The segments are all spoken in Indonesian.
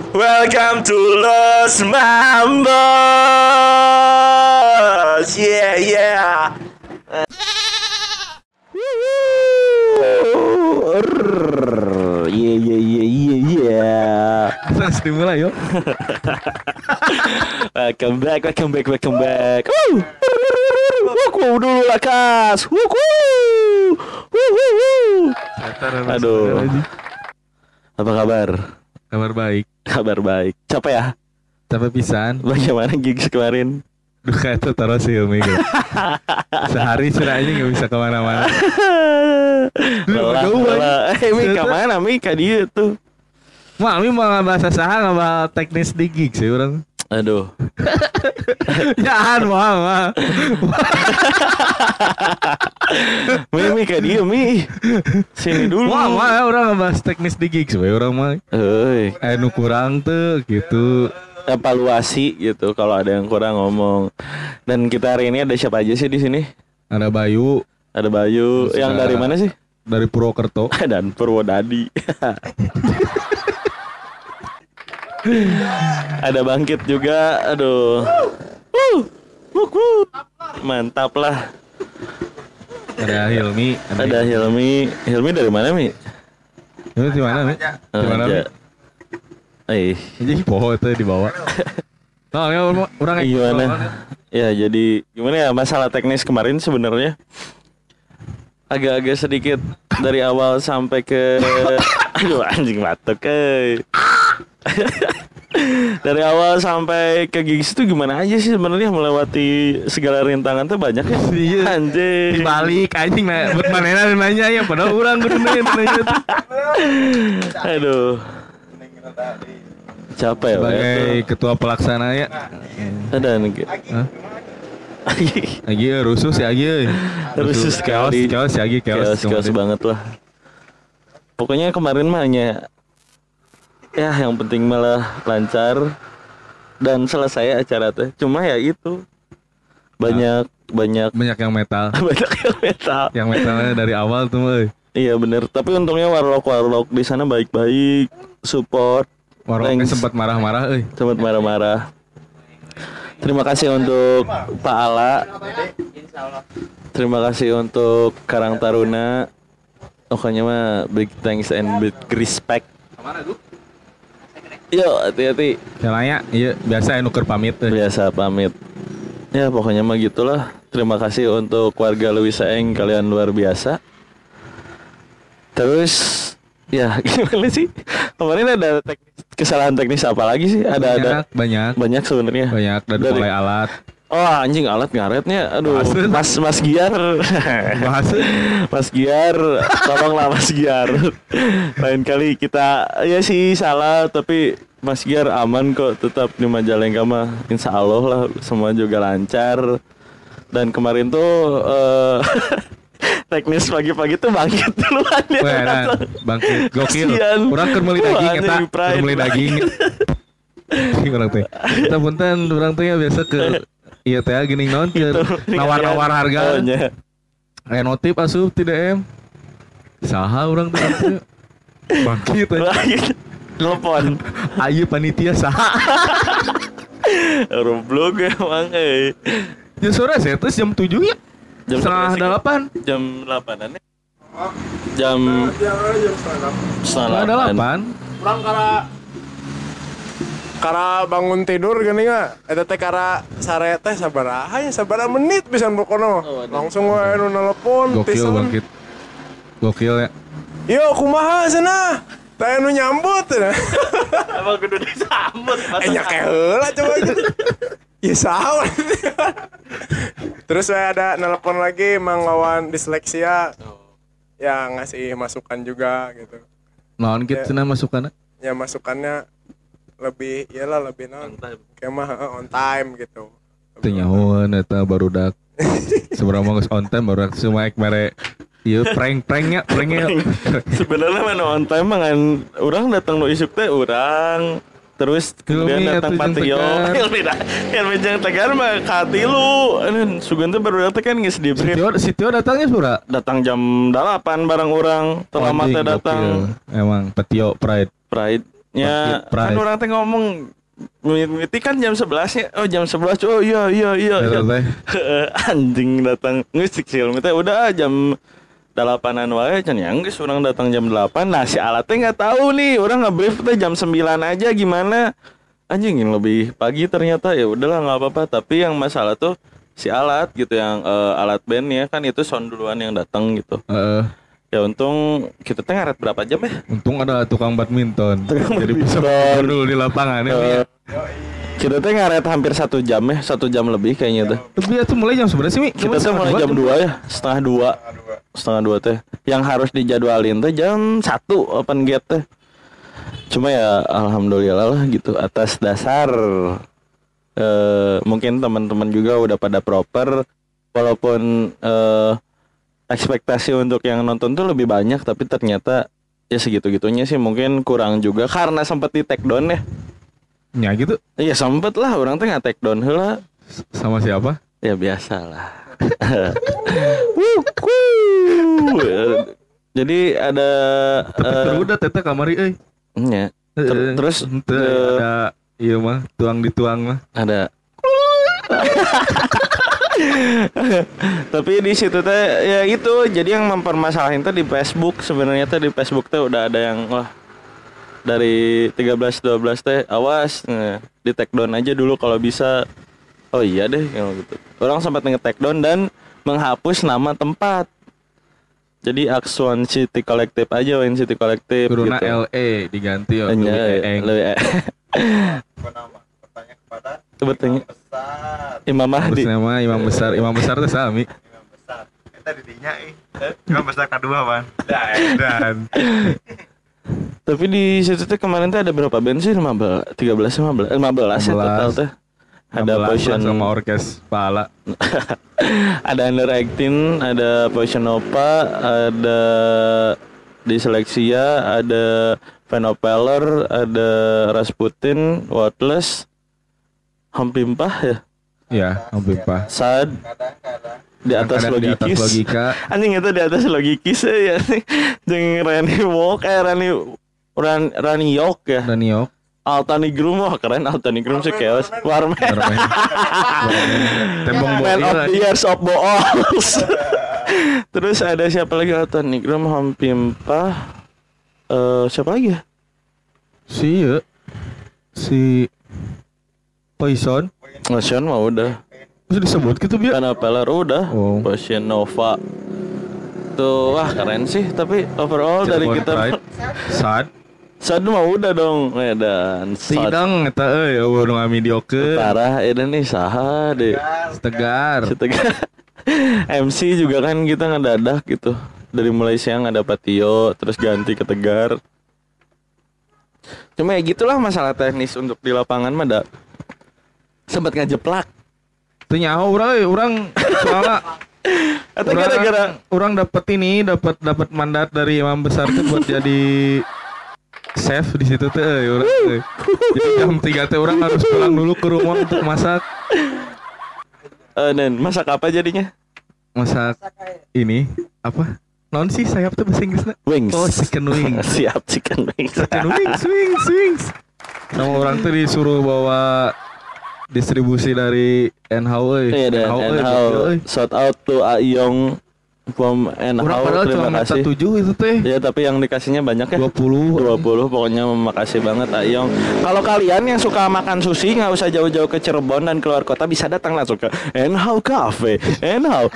Welcome to Los Mambos. Yeah, yeah. Terus dimulai yuk. Welcome back. Wuku dulu lah kas. Wuku. Aduh. Apa kabar? Kabar baik. Kabar baik. Capek ya? Capek pisan. Bagaimana gigs kemarin? Duh itu taruh sih Hilmi gitu. Sehari sudah aja gak bisa kemana-mana. Lelah. Mi kemana Mi? Ka dia tuh. Mami mau bahasa saha ngabah teknis di gigs sih orang. Aduh. Jangan mah. Mi ka dia Mi. Sini dulu. Wah, orang ngebahas teknis di gigs we orang mah. Euy, Nu kurang tuh gitu. evaluasi gitu kalau ada yang kurang ngomong. Dan kita hari ini ada siapa aja sih di sini? Ada Bayu. Ada Bayu. Yang dari mana sih? Dari Purwokerto. Dan Purwodadi. Ada Bangkit juga. Aduh. Mantap lah. Ada Hilmi. Ada Hilmi. Hilmi dari mana Mi? Hilmi di mana Mi? Di mana Mi? Jadi poho itu dibawa. Nah, ya orang gimana? Ya jadi gimana ya masalah teknis kemarin sebenarnya agak-agak sedikit dari awal sampai ke aduh anjing batuk dari awal sampai ke gigs itu gimana aja sih sebenarnya melewati segala rintangan tuh banyak ya. Iya. Anjing. Dibalik anjing buat manena nanya ya padahal orang kudu nanya tuh. Aduh. Capek ya. Sebagai ketua pelaksana ya. Ada nih. Lagi rusuh sih lagi. Rusuh sekali. Chaos lagi chaos banget lah. Pokoknya kemarin mah hanya ya yang penting malah lancar dan selesai acara teh. Cuma ya itu banyak yang metal. Banyak yang metal. Yang metalnya dari awal tuh, euy. Iya bener. Tapi untungnya warlock di sana baik-baik, support. Warlocknya sempat marah-marah, euy. Sempat marah-marah. Terima kasih untuk Pak Ala. Terima kasih untuk Karang Taruna. Pokoknya mah big thanks and big respect. Yo, hati-hati. Caranya, iya biasa nuker pamit. Biasa pamit. Ya pokoknya mah gitulah. Terima kasih untuk warga Lewisaeng, kalian luar biasa. Terus ya gimana sih? Kemarin ada kesalahan teknis apa lagi sih? Banyak sebenarnya. Banyak dari mulai alat. Oh anjing alat ngaretnya. Aduh. Mas Giar. Mas Giar, tolonglah Mas Giar. Lain kali kita ya sih salah tapi Mas Giar aman kok tetap di Majalengka mah. Insya Allah lah semua juga lancar. Dan kemarin tuh teknis pagi-pagi tuh Bangkit duluan ya. Bangkit gokil. Orang keur meuli daging eta, keur meuli daging. Orang teh. Kita punten orang teh biasa ke iya teh gini naon nawar-nawar harga. Notif asup ti DM. Saha urang teh? Bangkit. Telepon. Ayo panitia saha? Roblog emang Ya sore saya tuh jam 7 ya. Jam 7:30. Jam 8-an ya. Jam 7:30. Urang kara bangun tidur gini nggak? Eta teh kara sare teh sabaraha ya sabaraha menit bisa bokono. Langsung wae nu nelpon Gokil Bangkit. Gokil ya. Yo kumaha cenah? Teh nu nyambut cenah. Emang kudu disambut. Nya heula coba gitu. Ya saha. Terus saya ada nelpon lagi Mang Wawan disleksia. Ya ngasih masukan juga gitu. Naon kitu cenah masukanna? Ya masukannya lebih naon kayak mah on time gitu. Teu nyahoan eta barudak. Seberapa geus on time barudak semua ek mere ieu pranknya. Sebenarnya mana on time mah kan urang datang nu isuk teh urang terus kemudian datang Patrio. Hilmi jeung Tegar mah ka 3. Sugan teh baru datang kan geus di brief. Si Tio datangnya sura. Datang jam 8 bareng urang. Terlambat teh datang. Emang Patio Pride. Ya kan orang teh ngomong mimiti kan jam 11 nya. Oh jam 11. Oh iya. Anjing datang ngeusik sih teh udah jam 8-an wae can yang geus urang datang jam 8. Nah si alat teh enggak tahu nih, urang nge-brief teh jam 9 aja gimana. Anjing yang lebih pagi ternyata ya udahlah enggak apa-apa, tapi yang masalah tuh si alat gitu yang alat bandnya kan itu sound duluan yang datang gitu. Ya untung kita teh ngaret berapa jam ya? Untung ada tukang badminton. Jadi bisa dulu di lapangan ya. Kita teh ngaret hampir 1 jam ya, 1 jam lebih kayaknya tuh. Tapi itu mulai jam seberapa sih, Mi? Kita tuh mulai jam 2 ya, setengah 2 teh. Yang harus dijadwalin teh jam 1 open gate teh. Cuma ya alhamdulillah lah gitu atas dasar mungkin teman-teman juga udah pada proper walaupun ekspektasi untuk yang nonton tuh lebih banyak, tapi ternyata ya segitu-gitunya sih, mungkin kurang juga karena sempat di take down ya. Ya gitu. Iya sempet lah, orang tuh nggak take down lah. Sama siapa? Ya biasa lah. Jadi ada. Tapi udah tete kamari, Ya. Terus ada iya mah tuang dituang mah. Ada. Tapi di situ teh ya itu, jadi yang mempermasalahin tuh di Facebook sebenarnya tuh di Facebook tuh udah ada yang wah dari 13-12 teh awas di take down aja dulu kalau bisa. Oh iya deh gitu. Orang sempat nge-take down dan menghapus nama tempat. Jadi Axon City Collective aja, Wayne City Collective Corona gitu. LE diganti ya. Bertanya Imam Mahdi. Nama Imam Besar teh sami. Imam Besar. Eta di dinya Imam Besar kedua, Pan. Dan tapi di situ tuh kemarin tuh ada berapa band sih? 15 ya total tuh. Ada Poison sama orkes pala. Ada Under 18, ada Poison Nova, ada Dyslexia, ada Venopeller, ada Rasputin, Worthless, Hampimpah ya? Iya, Hampimpah. Sad di atas logika. Anjing itu di atas logikis ya. Jeung Rani Walk Rani Yok ya. Rani Yok. Altanigrum wah keren, Altanigrum sih chaos. Warman. Tembong Man of the Years of Boals. Terus ada siapa lagi? Altanigrum, Hampimpah. Siapa lagi ya? Si Poison mah udah. Terus disebut gitu biar. Venopeller udah. Poison Nova. Tuh wah keren sih, tapi overall dari kita Sad mah udah dong, dan sidang eta eueuh nu mediocre. Parah eta nih saha deh. Tegar. MC juga kan kita ngedadak gitu. Dari mulai siang ada Patio, terus ganti ke Tegar. Cuma ya gitulah masalah teknis untuk di lapangan mah da. Sempat ngajeplak. Teu nyaho urang soalnya atau gara-gara urang dapat mandat dari Imam Besar tuh buat jadi chef di situ teh urang teh. Jadi jam 3 teh urang harus pulang dulu ke rumah untuk masak. Dan masak apa jadinya? Masak ini apa? Naon sih sayap tuh bahasa Inggrisnya? Wings. Oh, chicken wings. Siap chicken wings. Chicken wings. Nama orang tuh disuruh bawa distribusi dari NHW. Iya, NHW. Shout out to Ayong from NHW. Terima kasih. 7 itu teh. Ya, tapi yang dikasihnya banyak ya. 20 pokoknya makasih banget Ayong. Kalau kalian yang suka makan sushi nggak usah jauh-jauh ke Cirebon dan keluar kota, bisa datang langsung ke NHW Cafe. NHW.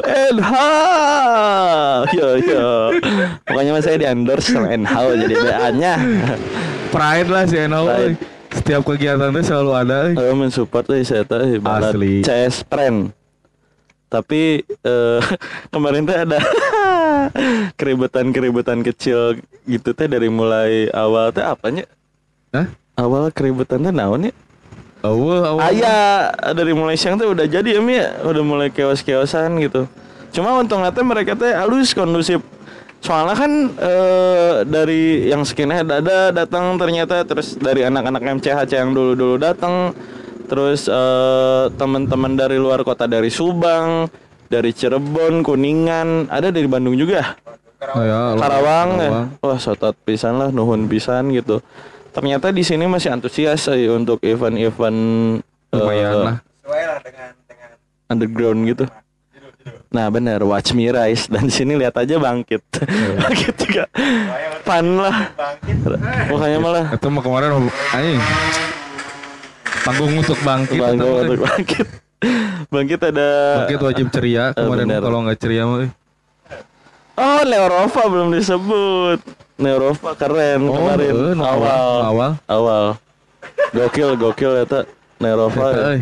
Yo. Pokoknya saya di-endorse sama NHW jadi BA-nya. Pride lah si NHW. Setiap kegiatan itu selalu ada. Mensupport saya tahu asli CS Friend. Tapi kemarin tuh ada keributan kecil gitu teh dari mulai awal teh apanya? Awal keributan teh naon ya? Awal. Dari mulai siang tuh udah jadi ya, udah mulai keos-keosan gitu. Cuma untungnya teh mereka teh halus kondusif. Soalnya kan dari yang skinhead ada datang ternyata, terus dari anak-anak MCHC yang dulu datang, terus teman-teman dari luar kota, dari Subang, dari Cirebon, Kuningan, ada dari Bandung juga. Karawang. Ya. Wah, sotot pisan lah, nuhun pisan gitu. ternyata di sini masih antusias untuk event-event lumayan lah. Sesuai lah dengan underground gitu. Nah benar, Watch Me Rise. Dan di sini lihat aja Bangkit. Bangkit juga fun lah. Makanya malah Itu mah kemarin anjing. Panggung untuk Bangkit. Panggung untuk Bangkit. Bangkit ada Bangkit wajib ceria kemarin kalau nggak ceria mah. Oh, Neurova belum disebut. Neurova keren kemarin awal. Gokil eta Neurova.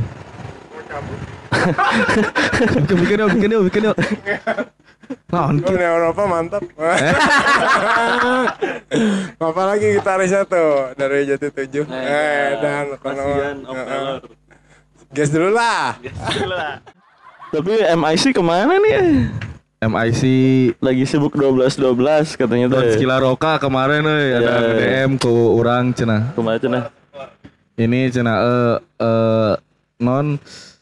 Bikin yuk. Eropa mantap. Apalagi gitarisnya tuh dari Jati 7. Dan Guys dulu lah. Tapi MIC kemana nih? MIC lagi sibuk 12 katanya tuh. Skila Roka kemarin ada DM ke orang cenah. Kumaha cenah? Ini cenah non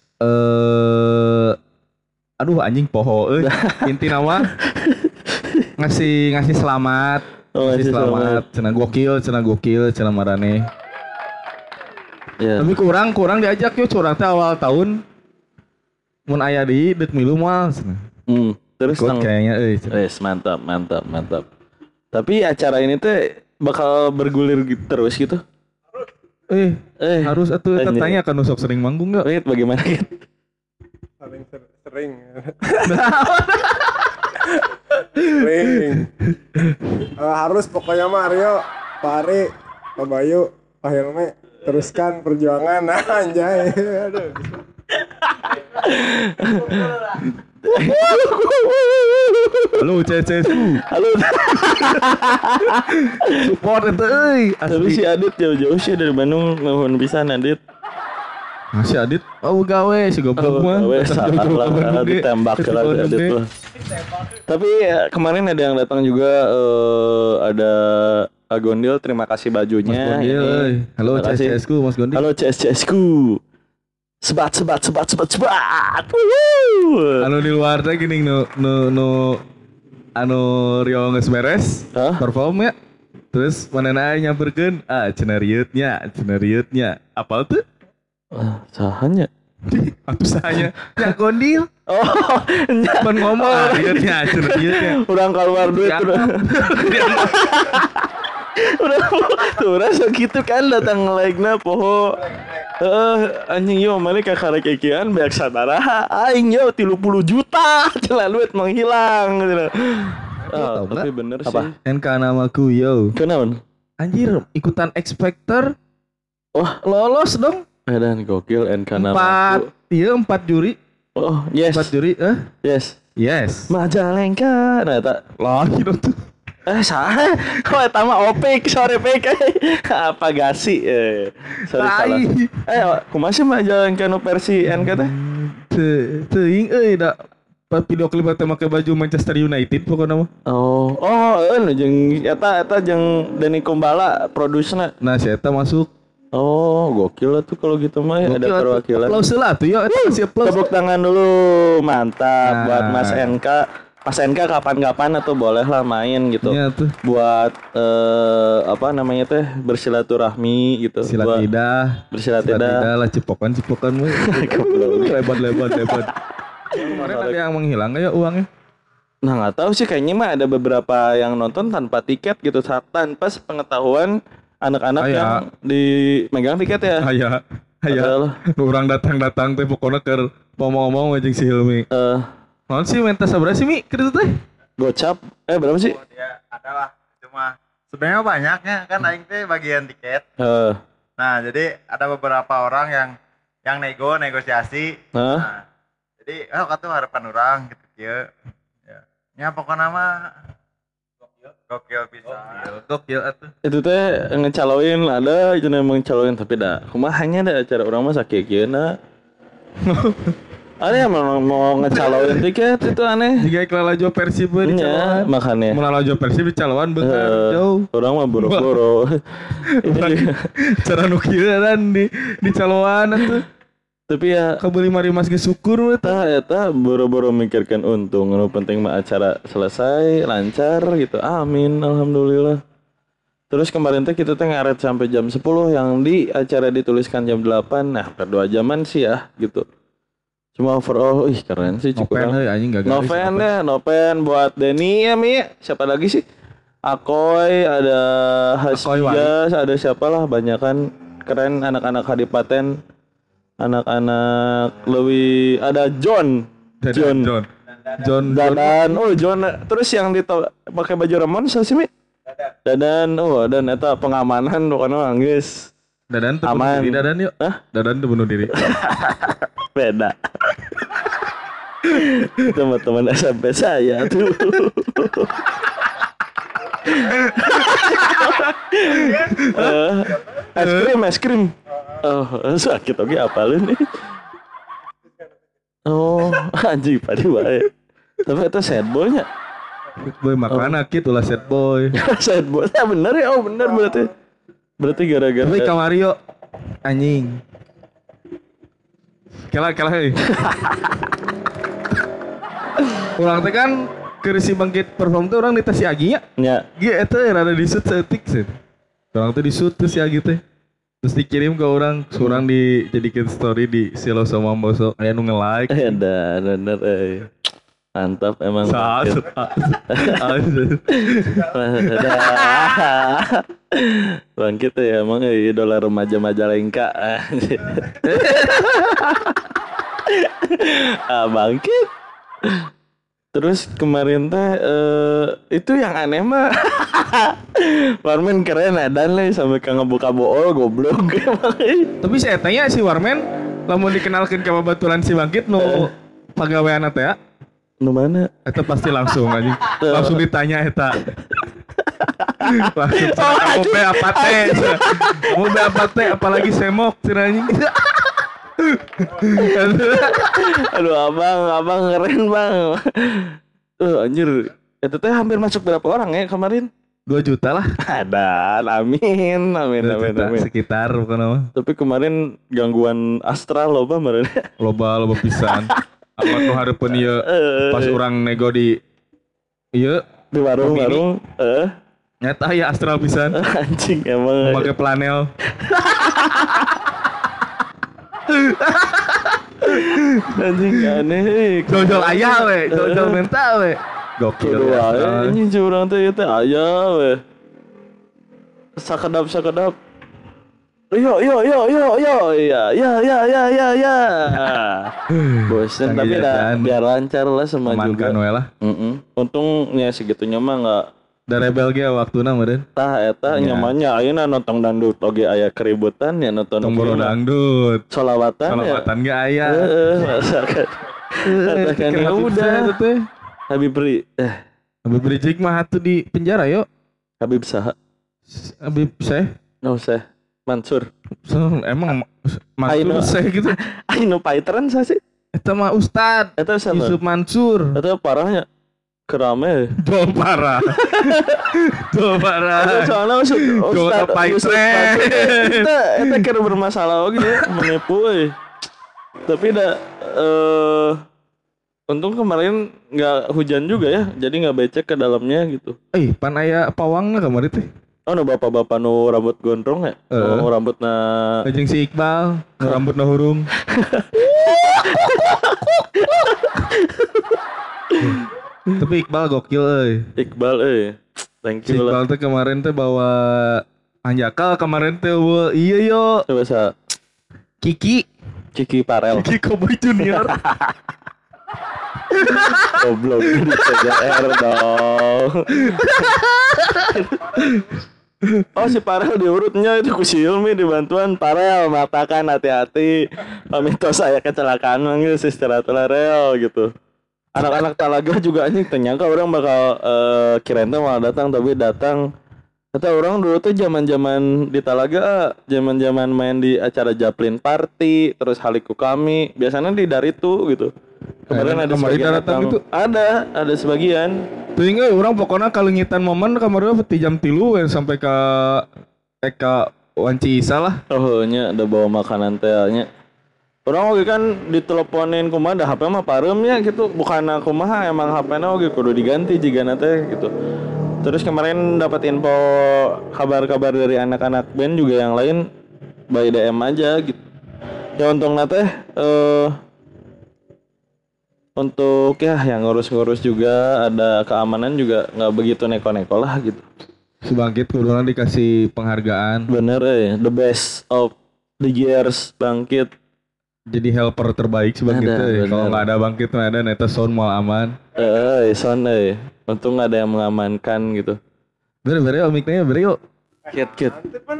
aduh anjing poho inti nama ngasih selamat ngasih selamat cenah gokil cenah marane tapi kurang diajak yuk curang teh awal tahun mun aya di dek milu moal cenah terus kayaknya mantap tapi acara ini teh bakal bergulir terus gitu. Harus atuh tanya kan usok sering manggung enggak? Bagaimana gitu? Paling sering. Harus pokoknya mah Aryo, Pak Ari, Pak Bayu, Pak Helme teruskan perjuangan anjay. Aduh. Halo CCSU. Halo. Support itu tapi si Adit jauh-jauh sih dari Bandung nuhun pisan Adit. Masih Adit gawe si goblok mah. Salah ditembak lah Adit tuh. Tapi kemarin ada yang datang juga ada Gondil, terima kasih bajunya. Halo CCSku Mas Gondil. Halo CCSku. Sebat. Anu di luar teh gini anu Rio geus beres perform ya. Terus manehna nyamperkeun cenah rieutnya. Apal tuh? Sahanya. Atuh sahanya. Ya Gondil. Oh, pan ngomong rieutnya. Urang keluar duit udah rasa gitu kan datang like-na poho. Anjing yo mana kakak kekian banyak sadaraha aing yo 30 juta celah duit menghilang gitu. Tapi bener sih. Apa? NK namaku yo. Kenapa? Anjir ikutan X Factor. Wah, lolos dong. Dan gokil NK namaku. 4 juri. Oh, yes. 4 juri, Yes. Majalengka. Nah, tak lagi dong tuh. Salah. Kok eta mah opik sore pek. Apa gasi? Sorry salah. Kumaha sih Majalengka nu versi NK teh? Teuing da video klip teh make baju Manchester United pokona mah. Oh, jeung eta jeung Denny Kumbala produsna. Nah, si eta masuk. Oh, gokil lah tuh kalau gitu mah ada perwakilan. Aplaus lah tuh ya, kasih aplaus. Tepuk tangan dulu, mantap buat Mas NK. Mas NK kapan-kapan atau boleh lah main gitu. Iya tuh. Buat apa namanya teh bersilaturahmi gitu. Bersilaturahmi lah cipokan mah. Lebat. Kemarin ada yang menghilang ya uangnya? Nah nggak tahu sih kayaknya mah ada beberapa yang nonton tanpa tiket gitu, tanpa pengetahuan anak-anak yang megang tiket ya. Aya. Orang datang teh pokoknya ke ngomong aja si Hilmi. Naon sih mentas sabaraha sih Mi? Kitu teh. Gocap. Berapa sih? Ya, adalah cuma sebenarnya banyaknya kan aing teh bagian tiket. Nah, jadi ada beberapa orang yang negosiasi. Nah, jadi kata harapan orang gitu ya. Ya pokoknya mah gokil bisa. Gokil atuh. Itu teh ngecaloin ada itu emang ngecaloin tapi kumaha hanya ada acara orang mah sakieukeuna. Ada yang mau ngecaloin tiket itu aneh. Jika Lalajo Persib dicaloan. Makanya. Mau Lalajo Persib dicaloan bener jauh. Orang mah boro-boro. Cara nu kieu dan dicaloan atuh. Tapi ya kabeli mari mas ge syukur eta boro-boro mikirkan untung. Nu penting mah acara selesai lancar gitu. Amin alhamdulillah. Terus kemarin teh kita teh ngaret sampai jam 10 yang di acara dituliskan jam 8. Nah, per 2 jaman sih ya gitu. Cuma overall keren sih cukup. Noven buat Denny ya Mi. Siapa lagi sih? Akoy, ada Hasya, ada siapa lah, banyak kan keren anak-anak Hadipaten. Anak-anak lebih ada John. Dadan. Oh, John. Terus yang pakai baju Ramon siapa sih Mi? Dadan, dan eta pengamanan pokoknya nangis. Dadan tuh bunuh diri Dadan yuk. Dadan tuh bunuh diri. Beda. Teman-teman SMP saya tuh. Es krim. Oh, sakit oke apalin nih. Oh, anjing padi wae. Tapi itu sad boy-nya. Boy makana gitu lah sad boy. Sad boy. Ya bener ya. Oh bener berarti. Berarti gara-gara. Tapi Kamario anjing. Kela heuy. Urang teh kan keur si Bangkit perform teh urang di tes si Agi nya. Nya. Ge eta rada di shoot setik sih. Urang teh di shoot si Agi teh. Terus dikirim ke orang, surang dijadikan story di Silo sama Boso. Aya nu nge-like. Ada bener mantap emang. Bangkit ya emang idola remaja Majalengka. Bangkit. Terus kemarin teh itu yang aneh mah Warmen keren dan lah sampai ke ngebuka bool goblok. Tapi saya tanya si Warmen lamun dikenalkan ke babaturan si Bangkit nu pagawean teh ya. Nu mana? Eta pasti langsung aja. Langsung ditanya eta. Langsung kamu be apa teh? Kamu be apa teh? Apalagi semok cenah. Aduh abang keren bang. Anjir. Itu teh hampir masuk berapa orang ya kemarin? 2 juta lah. Dan amin. Sekitar bukan apa. Tapi kemarin gangguan astral loba meureun. Loba pisan. Amat nu hareupeun ieu pas urang nego di ieu di warung. Nyata ya astral pisan. Anjing emang. Pakai planel. Anjing aneh. Jojol aya we, jojol mental we. Gokil ya. Anjing curang teh aya we. Sakedap. Yo. Ya. Bosen tapi biar lancar lah sama juga. Lah. Untungnya segitunya mah enggak da rebel ge waktuna meureun. Tah eta nyamannya ayeuna nonton dangdut oge aya keributan ya nonton dangdut. Solawatan ge aya. Masakan. Katakan ya udah teh. Habib Rizik mah atuh di penjara yo. Habib saha? Habib Syekh. No Syekh Mansur. Emang Mansur Syekh gitu. Aino paiteran sa sih? Eta mah Ustad. Eta sama Yusuf Mansur. Eta parahnya. Kerame. Tuh parah. Soalnya Ustad paiteran. Eta kira bermasalah oge menipu euy. Tapi untung kemarin nggak hujan juga ya, jadi nggak becek ke dalamnya gitu. Pan aya pawangna kemarin teh. Oh, no bapak-bapak nu rambut gondrong ya? Nu rambutna jeung si Iqbal, nu rambutna hurung. Tapi Iqbal gokil euy. Thank you lah. Iqbal teh kemarin teh bawa Anjakal kemarin teh iya yo. Coba sa Kiki Parel. Kiki Cowboy Junior. Goblok di CGR dong. Oh si Parel diurutnya itu ku si Hilmi dibantuan Parel matakan hati-hati pamintos saya kecelakaan manggil si secara real gitu. Anak-anak Talaga juga anjing ternyangka orang bakal kirain tuh malah datang tapi datang. Kata orang dulu tuh zaman-zaman di Talaga, zaman-zaman main di acara Japlin Party, terus Haliku Kami, biasanya di Daritu gitu. Kemarin ada sebagian datang itu. Ada sebagian. Tuh ingat orang pokoknya kalengitan momen kemarin peti jam 3 sampai ke Wanci Isa lah. Oh nya ada bawa makanan tehnya. Orang oge kan diteleponin kumaha da HP mah pareumnya gitu. Bukan kumaha emang HP-na oge kudu diganti jigana teh gitu. Terus kemarin dapat info kabar-kabar dari anak-anak band juga yang lain by DM aja gitu. Ya untungnya teh untuk ya yang ngurus-ngurus juga ada keamanan juga nggak begitu neko-neko lah gitu. Si Bangkit kudunya dikasih penghargaan. Bener the best of the years Bangkit. Jadi helper terbaik si Bangkit kalau nggak ada Bangkit nggak ada neta sound mal aman. Sound untung ada yang mengamankan gitu. Beri omiknya beri yuk. Kit.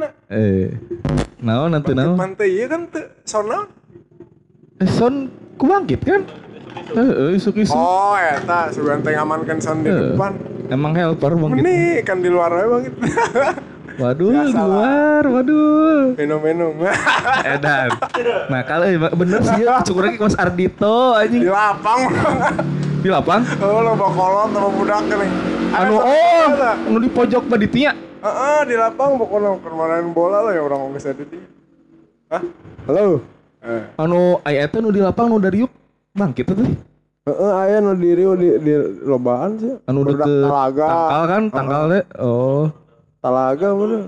Naon nanti naon? Pantai iya kan tuh sound. Sound ku Bangkit kan? Isu-isu. Oh, eta sugan teh ngamankan sound di depan. Emang helper Bangkit. Ini kan di luar aja Bangkit. Waduh, di luar, waduh. Minum. Edan. Nah, kalau bener sih ya, cukup lagi Mas Ardito anjing. Di lapang. Di lapang? Oh, lo bakolot sama budak nih. Anu di pojok panitia. Di lapang pokoknya kemarin bola lah ya orang nggak sadar dia. Hah? Halo. Anu aya eta nu di lapang nu dari yuk Bangkit teh. Aya nu di Rio di lobaan sih. Anu deket Talaga. Tangkal kan, tangkal teh. Oh. Talaga bener.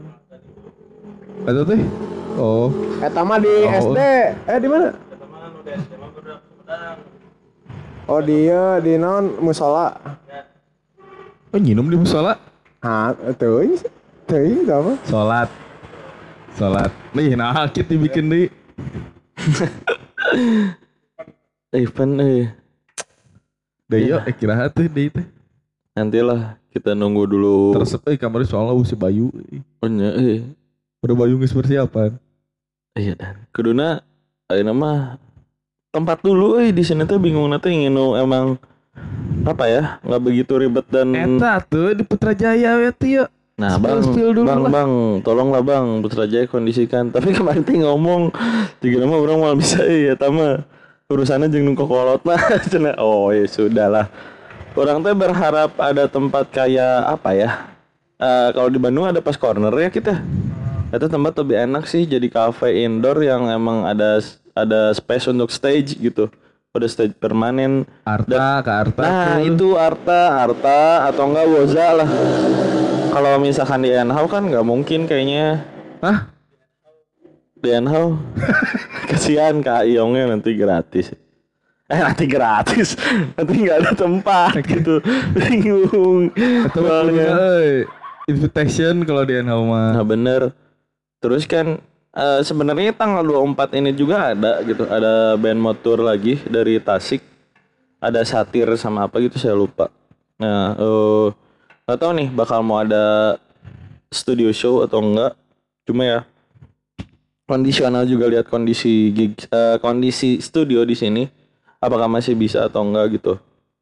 Eta teh. Oh. Eta mah di SD. Di mana? Oh dia di non musola. Oh nginum di musola? Teuing apa? Salat. Nih nah kita dibikin di. Deyo kira tuh deh teh. Nantilah kita nunggu dulu. Teresep kamarnya soalnya si Bayu. Oh nya Udah Bayu geus persiapan. Iya dan kuduna ayeuna mah tempat dulu di sini tuh bingung nanti ingin emang apa ya nggak begitu ribet dan eta tuh di Putrajaya ya tuh ya. Nah bang tolonglah bang Putrajaya kondisikan. Tapi kemarin tuh ngomong tiga nama orang malah bisa ya tama urusannya jeung kokolot mah cenah. Oh ya sudahlah. Orang teh berharap ada tempat kayak apa ya? Kalau di Bandung ada Pas Corner ya kita. Itu tempat lebih enak sih jadi cafe indoor yang emang ada space untuk stage gitu. Ada stage permanen. Arta. Nah, itu Arta atau enggak Woza lah. Kalau misalkan di Enhau kan nggak mungkin kayaknya. Hah? Di Enhau. Kasihan Kak Iongnya nanti gratis. Nanti gratis. Nanti nggak ada tempat gitu. Bingung. Atau invitation kalau di Enhau mah. Nah, bener. Terus kan sebenarnya tanggal 24 ini juga ada gitu. Ada band motor lagi dari Tasik. Ada Satir sama apa gitu saya lupa. Nah, gak tahu nih bakal mau ada studio show atau enggak. Cuma ya kondisional juga lihat kondisi kondisi studio di sini. Apakah masih bisa atau enggak gitu.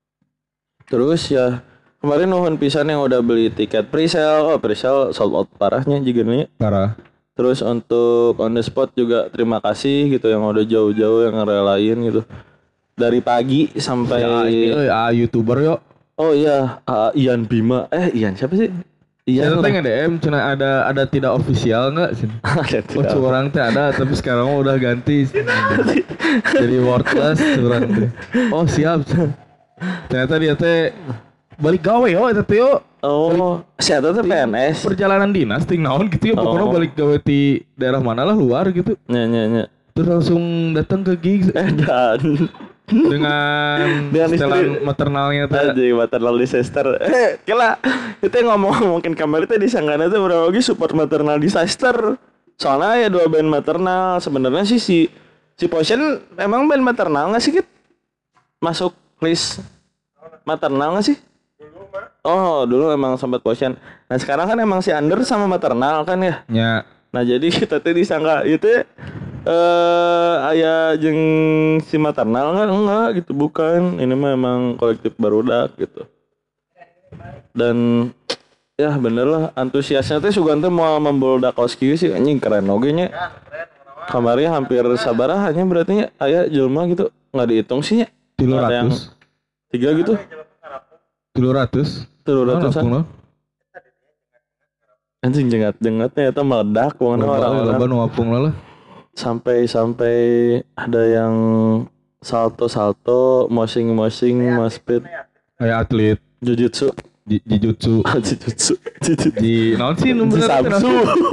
Terus ya kemarin nuhun pisan yang udah beli tiket pre-sale. Pre-sale sold out parahnya juga nih. Parah. Terus untuk on the spot juga terima kasih gitu yang udah jauh-jauh yang ngerelain gitu. Dari pagi sampai YouTuber yuk. Oh iya, Ian Bima. Ian siapa sih? Ian. Saya tanya DM cina ada tidak official enggak sih? Curang teh ada tapi sekarang udah ganti. Jadi wordless curang teh. Oh siap. Ternyata dia teh balik gawe eta teh yo. Oh, siapa tuh PNS? Perjalanan dinas ting naon gitu ya pokoknya balik gawe di daerah mana lah luar gitu. Nya. Terus langsung datang ke gigs dan dengan setelan maternalnya tadi maternal disaster. Kira itu ngomong-ngomongin kamar itu di sanggana tuh berapa lagi support maternal disaster. Soalnya ya 2 band maternal sebenarnya sih si Potion emang band maternal nggak sih Kit? Masuk list maternal nggak sih? Oh dulu emang sempat Potion. Nah sekarang kan emang si Under sama maternal kan ya? Ya. Nah jadi kita tuh disangka itu ayah jeung si maternal enggak gitu bukan. Ini mah emang kolektif barudak gitu. Dan ya bener lah antusiasnya teh sugan teh mau membuldak oski sih anjing keren oge nya. Kamarnya hampir sabarahannya berarti aya jelema gitu enggak dihitung sih nya. 300. 3 gitu. 300. Anjing jengat-jengatnya eta meledak wong orang-orang. Ngapung lah. Sampai ada yang salto, moshing, moshing, speed. Kayak atlet jujutsu. Jijutsu. Di naon sih nomor Sabsu.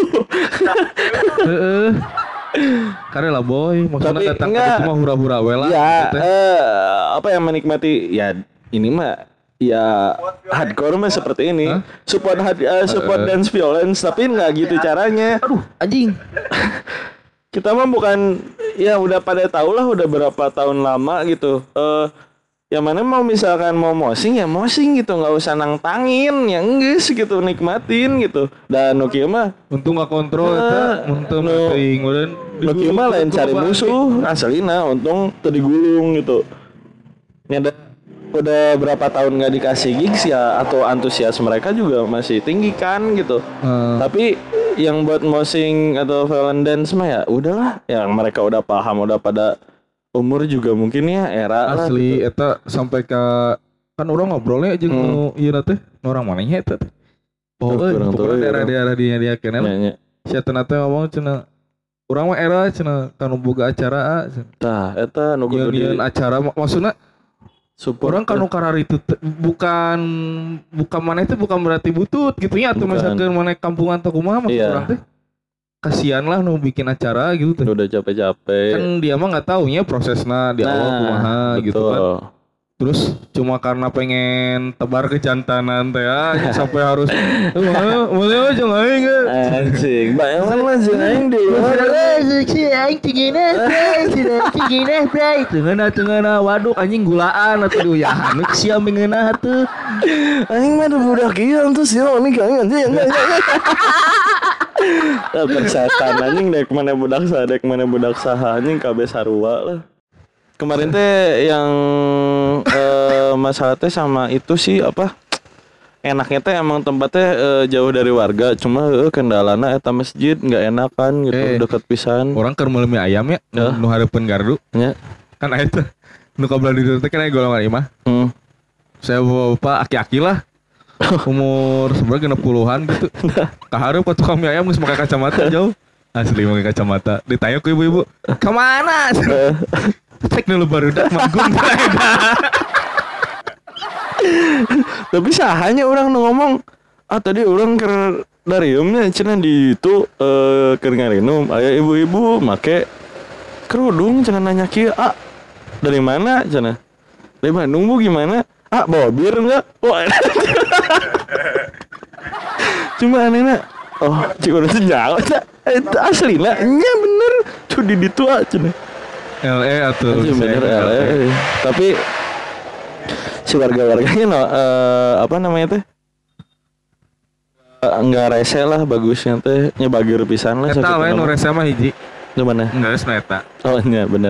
Heeh. Karena lah boy, maksudnya datang ke itu mah hura-hura we lah. Ya, apa yang menikmati ya ini mah ya hardcore mah seperti ini. Support dance violence tapi enggak gitu caranya. Aduh, anjing. Kita mah bukan ya udah pada tahu lah udah berapa tahun lama gitu. Yang mana mau misalkan mau mosing ya mosing gitu, nggak usah nangtangin, ya enggak gitu nikmatin gitu. Dan Nokia mah untung nggak kontrol eta, untung teuing meureun. Nokia mah lain cari musuh, asalina untung teu digulung gitu. Nyada udah berapa tahun nggak dikasih gigs ya atau antusias mereka juga masih tinggi kan gitu. Tapi yang buat mosing atau violent dance mah ya udahlah, yang mereka udah paham, udah pada umur juga mungkin ya era asli lah, gitu. Eta sampai ke kan orang ngobrolnya aja nu ieu teh orang manehnya eta teh. Oh, daerah-daerah dia kenal. Sia teh ngomong cenah urang mah era cenah kanu boga acara tah eta nu kudu acara maksudna support orang kanu karar itu bukan mana itu bukan berarti butut gitu ya atau misalkan mana kampungan atau kumaha maksud orang teh kasihan lah nu bikin acara gitu teh. Udah capek-capek. Kan dia mah enggak taunya prosesnya di awal kumaha gitu kan. Terus cuma karena pengen tebar kejantanan teh sampai harus mana jeung aing anjing bayangan mah jeung aing di luar aing tingina bray tengena waduk anjing gulaan atuh ya anu sia mengeunah atuh aing mah budak ieu tuh sia ini aing anjing persetan anjing dek mana budak saha anjing kabeh sarua lah. Kemarin teh yang masalah teh sama itu sih apa enaknya teh emang tempatnya jauh dari warga cuma kendalana eta masjid nggak enakan gitu dekat pisan orang keur meuli mie ayam ya nu hareupeun gardu nya kan eta nu kabelah di dieu teh kan golongan imah saya bapak aki-aki lah umur sebenarnya 60-an gitu kahareup ka tukang mie ayam geus make kacamata jauh asli make kacamata ditanya ku ibu-ibu kemana cek dulu baru dak manggung tapi sahanya orang ngomong tadi orang ke dariumnya cenah di itu keur ngarinum aya ibu-ibu make kerudung cenah nanya kieu dari mana cenah dari Bandung Bu gimana bawa bir enggak cuma anehna cik urang teh nyawa eta aslina nya bener tuh di ditu cenah LE atau bener LE tapi si warga-warganya apa namanya teh enggak rese lah bagusnya teh nya bager pisan lah eta we nu rese mah hiji di mana enggak geus eta nya bener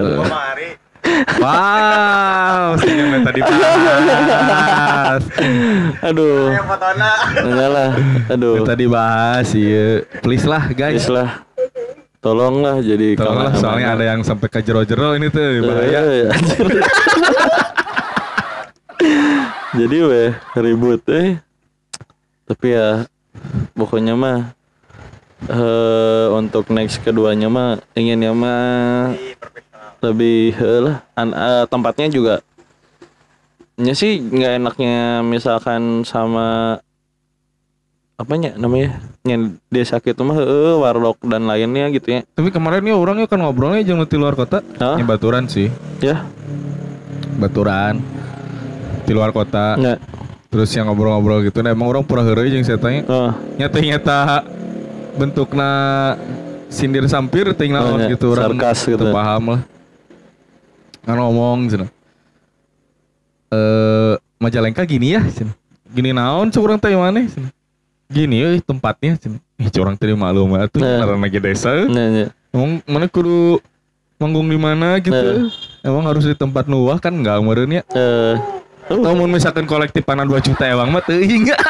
wow senyum tadi bahas aduh enggak lah aduh tadi bahas ieu please lah guys tolonglah jadi tolonglah soalnya ada yang sampai ke jero-jero ini tuh bahaya jadi ribut tapi ya pokoknya mah untuk next keduanya mah inginnya mah lebih lah tempatnya juga nya sih nggak enaknya misalkan sama apanya namanya yang desa gitu mah warlock dan lainnya gitu ya. Tapi kemarin ya orangnya kan ngobrolnya jeung di luar kota. Ya baturan sih. Ya. Baturan di luar kota. Ya. Terus yang ngobrol-ngobrol gitu nah emang orang pura heureuy jeung saya tanya. Nyata bentukna sindir sampir teuing naon gitu orang sarkas gitu. Paham lah. Kan ngomong cenah. Majalengka gini ya cenah. Gini naon cuk urang teh maneh cenah. Gini tempatnya curang tadi maklum atuh karena lagi desa. Emang mana kudu manggung di mana gitu. Emang harus di tempat nuwah kan enggak meureun ya. Namun misalkan kolektif panan 2 juta emang mah teuing enggak.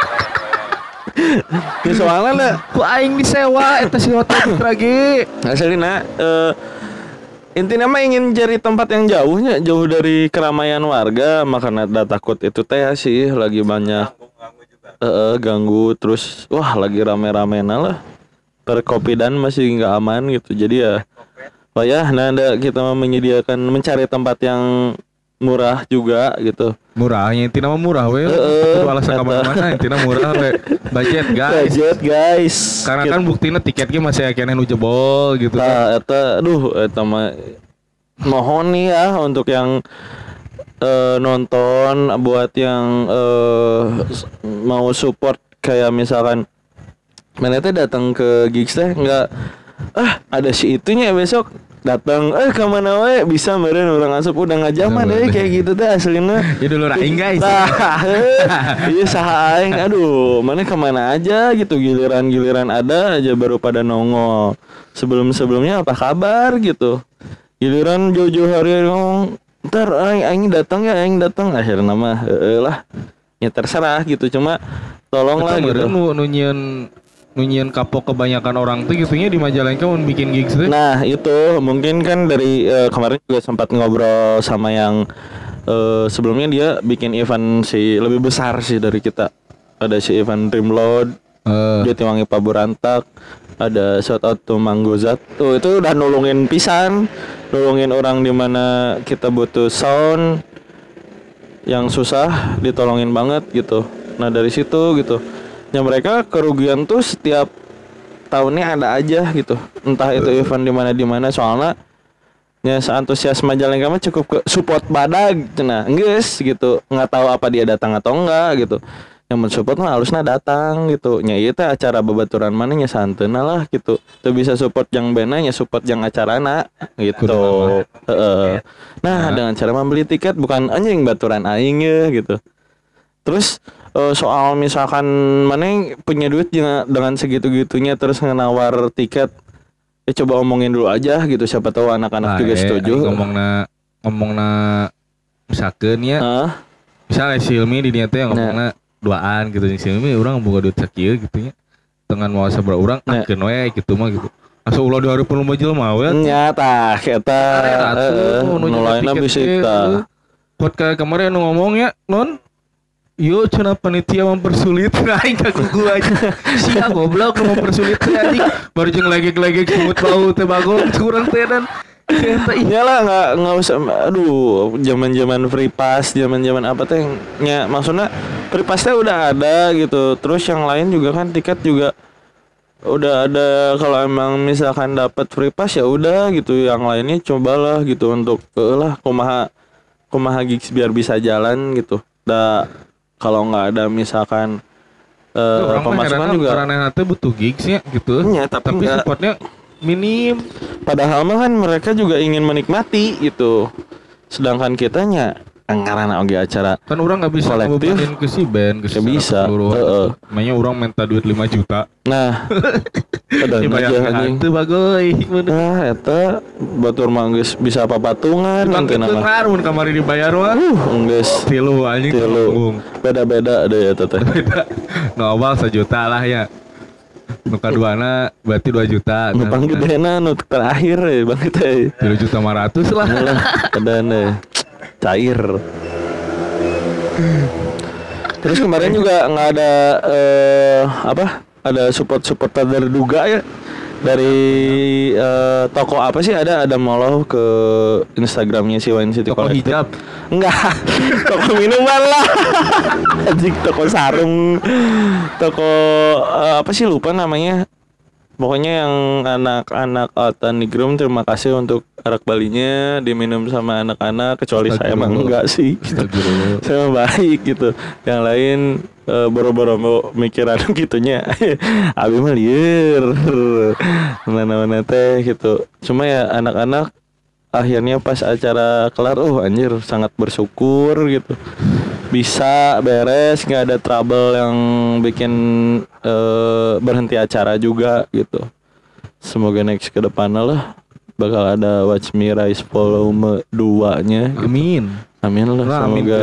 Ki soalna ku aing disewa eta si hotel lagi. Asalina intinya mah ingin cari tempat yang jauhnya jauh dari keramaian warga makanya ada takut itu teh sih lagi banyak ganggu terus wah lagi rame-ramena lah perkopidan masih nggak aman gitu jadi ya nah ada kita menyediakan mencari tempat yang murah juga gitu. Murahnya intinya mah murah we. Itu alasan kemana-mana intinya murah we. Budget guys. Karena kan buktinya tiketnya masih kene nu jebol gitu. Nah, eta mah mohon nih ya untuk yang nonton, buat yang mau support kayak misalkan mana teh datang ke gigs teh enggak ada si itunya besok datang kemana we bisa meureun urang asup udah ngajaman deh kayak gitu teh aslinya. Ya dulu raing guys. Iya saha aing aduh mana kemana aja gitu giliran ada aja baru pada nongol. Sebelumnya apa kabar gitu. Giliran jauh-jauh hari ngomong ntar aing datang akhirnya mah lah ya terserah gitu cuma tolonglah gitu. Nunyian kapok kebanyakan orang tuh gitunya di Majalengka mau bikin gigs tuh. Nah itu mungkin kan dari kemarin juga sempat ngobrol sama yang sebelumnya dia bikin event lebih besar sih dari kita. Ada si event Dreamload, dia Tiwangi Paburantak, ada shout out to Manggozat. Tuh itu udah nolongin pisan, nolongin orang di mana kita butuh sound yang susah ditolongin banget gitu. Nah dari situ gitu. Ya mereka kerugian tuh setiap tahunnya ada aja gitu. Entah itu event di mana soalnya ya seantusias Majalengka mah cukup ke support badag cenah. Geus gitu. Enggak tahu apa dia datang atau enggak gitu. Yang mensupport mah harusnya datang gitu. Nya ieu teh acara babaturan mana nya santeuna lah gitu. Teu bisa support yang band nya support yang acarana gitu. Nah, dengan cara membeli tiket bukan anjing baturan aing ya gitu. Terus soal misalkan mana punya duit dengan segitu-gitunya terus ngenawar tiket coba omongin dulu aja gitu siapa tahu anak-anak juga setuju. Ngomongna misalkan ya misalnya Silmi di niatnya yang ngomongna duaan gitu Silmi orang boga duit sakieu gitu nya dengan mau sabaraha urang akeun we gitu mah gitu asa ulah di hareupeun lomba jelema we nya tah eta nu lainna bisita podcast kemarin ngomongnya non yo cenah panitia mempersulit aing kagugu aja. Sia goblok mempersulit teh anjing. Baru jeung legek-legek semut bau teh bagong kurang teh dan iyalah enggak usah aduh zaman-zaman free pass, zaman-zaman apa teh nya maksudnya free pass teh udah ada gitu. Terus yang lain juga kan tiket juga udah ada kalau emang misalkan dapat free pass ya udah gitu. Yang lainnya cobalah gitu untuk kumaha gigs biar bisa jalan gitu. Kalau nggak ada misalkan pemasukan juga karena nanti butuh gigsnya gitu ya, tapi supportnya minim padahal mah kan mereka juga ingin menikmati gitu sedangkan kitanya karena oge acara kan orang nggak bisa ngebebanin ke si band ke bisa makanya orang minta duit 5 juta nah ada aja itu bagoy nah eta batur mah geus bisa papatungan nanti nama mun kamari dibayar mah geus tilu anjing beda-beda ada ya teh beda nu awal 1 juta lah ya nu kaduana berarti 2 juta nu panggedena nu terakhir ya Bang teh 3.500.000 lah kadane cair. Terus kemarin juga nggak ada ada support terduga ya dari toko apa sih ada moloh ke Instagramnya si Wine City Collective. Toko hijab enggak toko minuman lah anjing toko sarung toko apa sih lupa namanya pokoknya yang anak-anak Tanigrum terima kasih untuk arak balinya diminum sama anak-anak kecuali saya mah enggak sih gitu. Saya mah baik gitu yang lain boro-boro mau mikiran gitunya abi mah lieur mana-mana teh gitu cuma ya anak-anak akhirnya pas acara kelar anjir sangat bersyukur gitu bisa beres nggak ada trouble yang bikin berhenti acara juga gitu semoga next ke depannya lah bakal ada Watch Me Rise volume 2 nya gitu. Amin lah semoga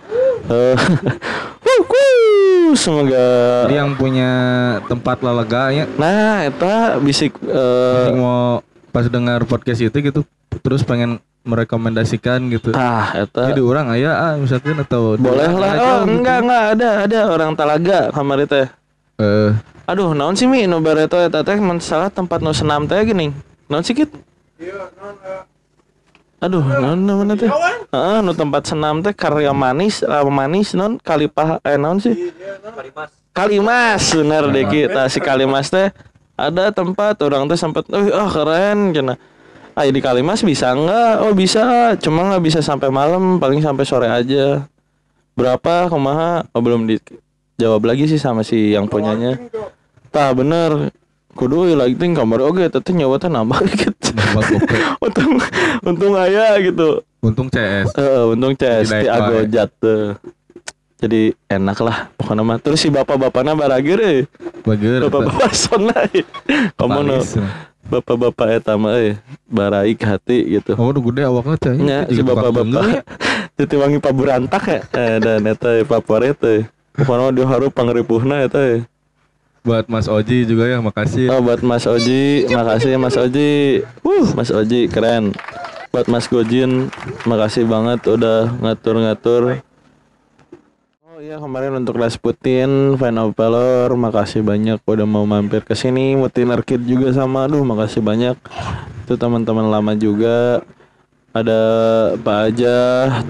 semoga yang punya tempat laleganya nah eta bisik mau pas dengar podcast itu gitu terus pengen merekomendasikan gitu. Eta. Jadi orang aya misalkan atau boleh lah. Enggak ada orang Talaga kamari teh. Aduh, naon sih Mi nu bareto eta teh mun salah tempat nu senam teh geuning. Naon sih Kit? Iya, naon Aduh, mana teh? Nu tempat senam teh karya manis non Kalipah naon sih? Kalimas bener deh kita si Kalimas teh ada tempat orang teh sempat keren cenah. Di Kalimas bisa enggak? Oh bisa, cuma nggak bisa sampai malam, paling sampai sore aja. Berapa kumaha? Oh belum dijawab lagi sih sama si yang punyanya. Tah bener. Kudu lagi ting kamar oge teteh nyawa teh nambah gitu. Untung aya gitu. Untung CS. Untung CS di Agojat tuh. Jadi enak lah pokoknya mah. Terus si bapak-bapakna baragir bapak-bapak sona. Kamu no. Bapak-bapak eta mah baraik hati gitu. Oh udah gede awakna teh. Nya si bapak-bapak. Titi wangi paburantak ya. Dan eta favorit teh. Pokoknya dia harus pangripuhna eta. Buat Mas Oji juga ya, makasih. Oh buat Mas Oji, makasih Mas Oji. Mas Oji keren. Buat Mas Gojin, makasih banget udah ngatur-ngatur. Oh iya kemarin untuk Rasputin, Fan of Valor, makasih banyak udah mau mampir ke sini. Mutiner Kid juga sama, makasih banyak. Itu teman-teman lama juga. Ada Pak Ajah,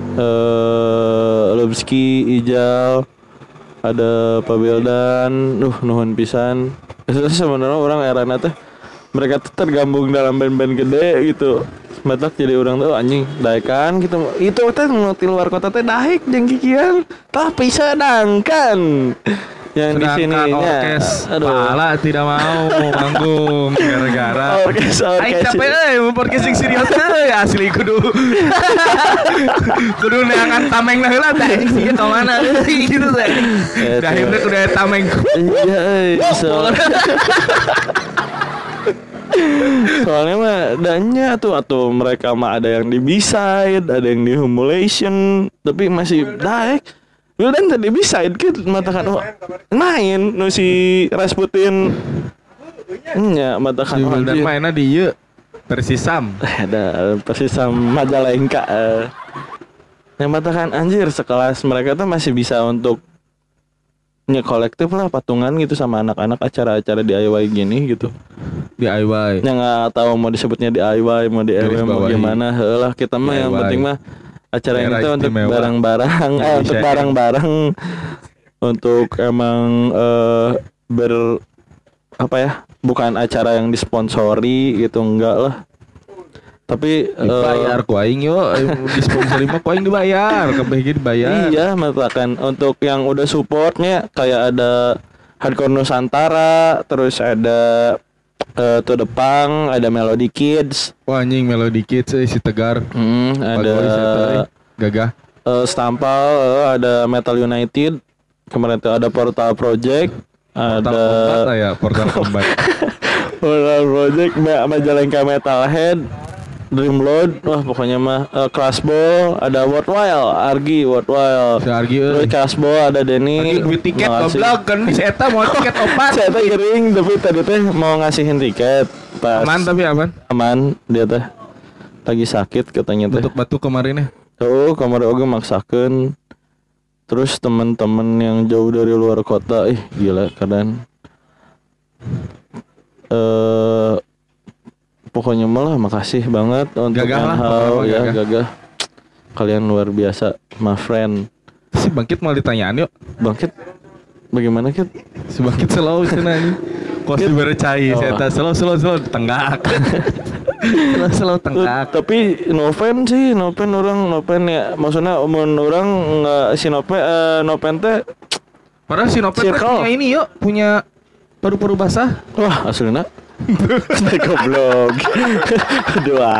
Lubski, Ijal. Ada Pak Beldan, nuhun pisan. Sebenarnya orang erana teh mereka tuh tergabung dalam band-band gede gitu. Matak jadi orang tuh anjing daekan gitu. Itu teh di luar kota teh daek jeung kikian. Tapi sedangkan yang di sini orkes pala tidak mau manggung gara-gara orkes capek mau orkes sing serius asli kudu neangan tameng lah heula teh sih ka mana gitu teh akhirnya kudu tameng iya soalnya mah dannya tuh atau mereka mah ada yang di B-side, ada yang di humulation, tapi masih daek. Dan tadi bisa kan matakan main nu si Rasputin nya matakan dan mainnya di ieu Persisam. Ada Persisam Majalengka. Yang matakan anjir sekelas mereka tuh masih bisa untuk kolektif lah patungan gitu sama anak-anak acara-acara DIY gini gitu. DIY. Yang nggak tahu mau disebutnya DIY mau DIY mau gimana lah kita mah yang penting mah acara ini tuh untuk barang-barang untuk barang-barang untuk emang bukan acara yang disponsori gitu enggak lah. Tapi dibayar ku aing yo disponsori mah ku aing dibayar, kabeh dibayar. Iya, misalkan untuk yang udah supportnya kayak ada Hardcore Nusantara, terus ada To The Punk, ada Melody Kids. Wah anjing Melody Kids si Tegar. Ada Gagah. Stampal, ada Metal United. Kemarin tuh ada Portal Project, ada Portal Combat. Portal Project, Majalengka Metalhead, Dreamload, wah pokoknya mah Crashball, ada Worthwhile, Argi Worthwhile. Si Argi terus Crashball ada Denny. Duit tiket goblok kan di eta mau tiket opat. Saya teh iring tapi tadi teh mau ngasihin tiket. Pas aman tapi aman. Aman dia teh lagi sakit katanya teh. Batuk kemarin ya. Kemarin oge maksakeun. Terus teman-teman yang jauh dari luar kota, gila kadang. Pokoknya malah makasih banget untuk Gagah. Kalian luar biasa, my friend. Si Bangkit mau ditanyaan yuk. Bangkit bagaimana Kit? Si Bangkit selalu cenah anjing. Kos diberecai saya selalu tenggak. Selalu tenggak. Tapi Noven ya maksudnya orang enggak si Noven teh. Padahal si Noven punya ini yuk, punya paru-paru basah. Wah, aslinya goblok. Dua.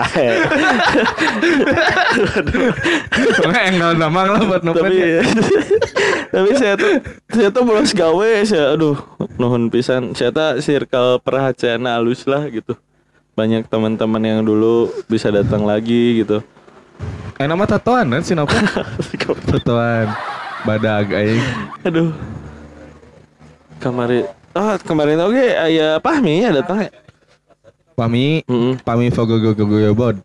Enggak damang lah buat Noven. Tapi saya tuh bolos gawe nuhun pisan. Saya tuh circle perhatian halus lah gitu. Banyak teman-teman yang dulu bisa datang lagi gitu. Nama tatoan kan si Noven? Tatoan badag aing. Aduh. Kemarin oke aya Pahmi ya datang ya. Pahmi Fogogogogoyobod.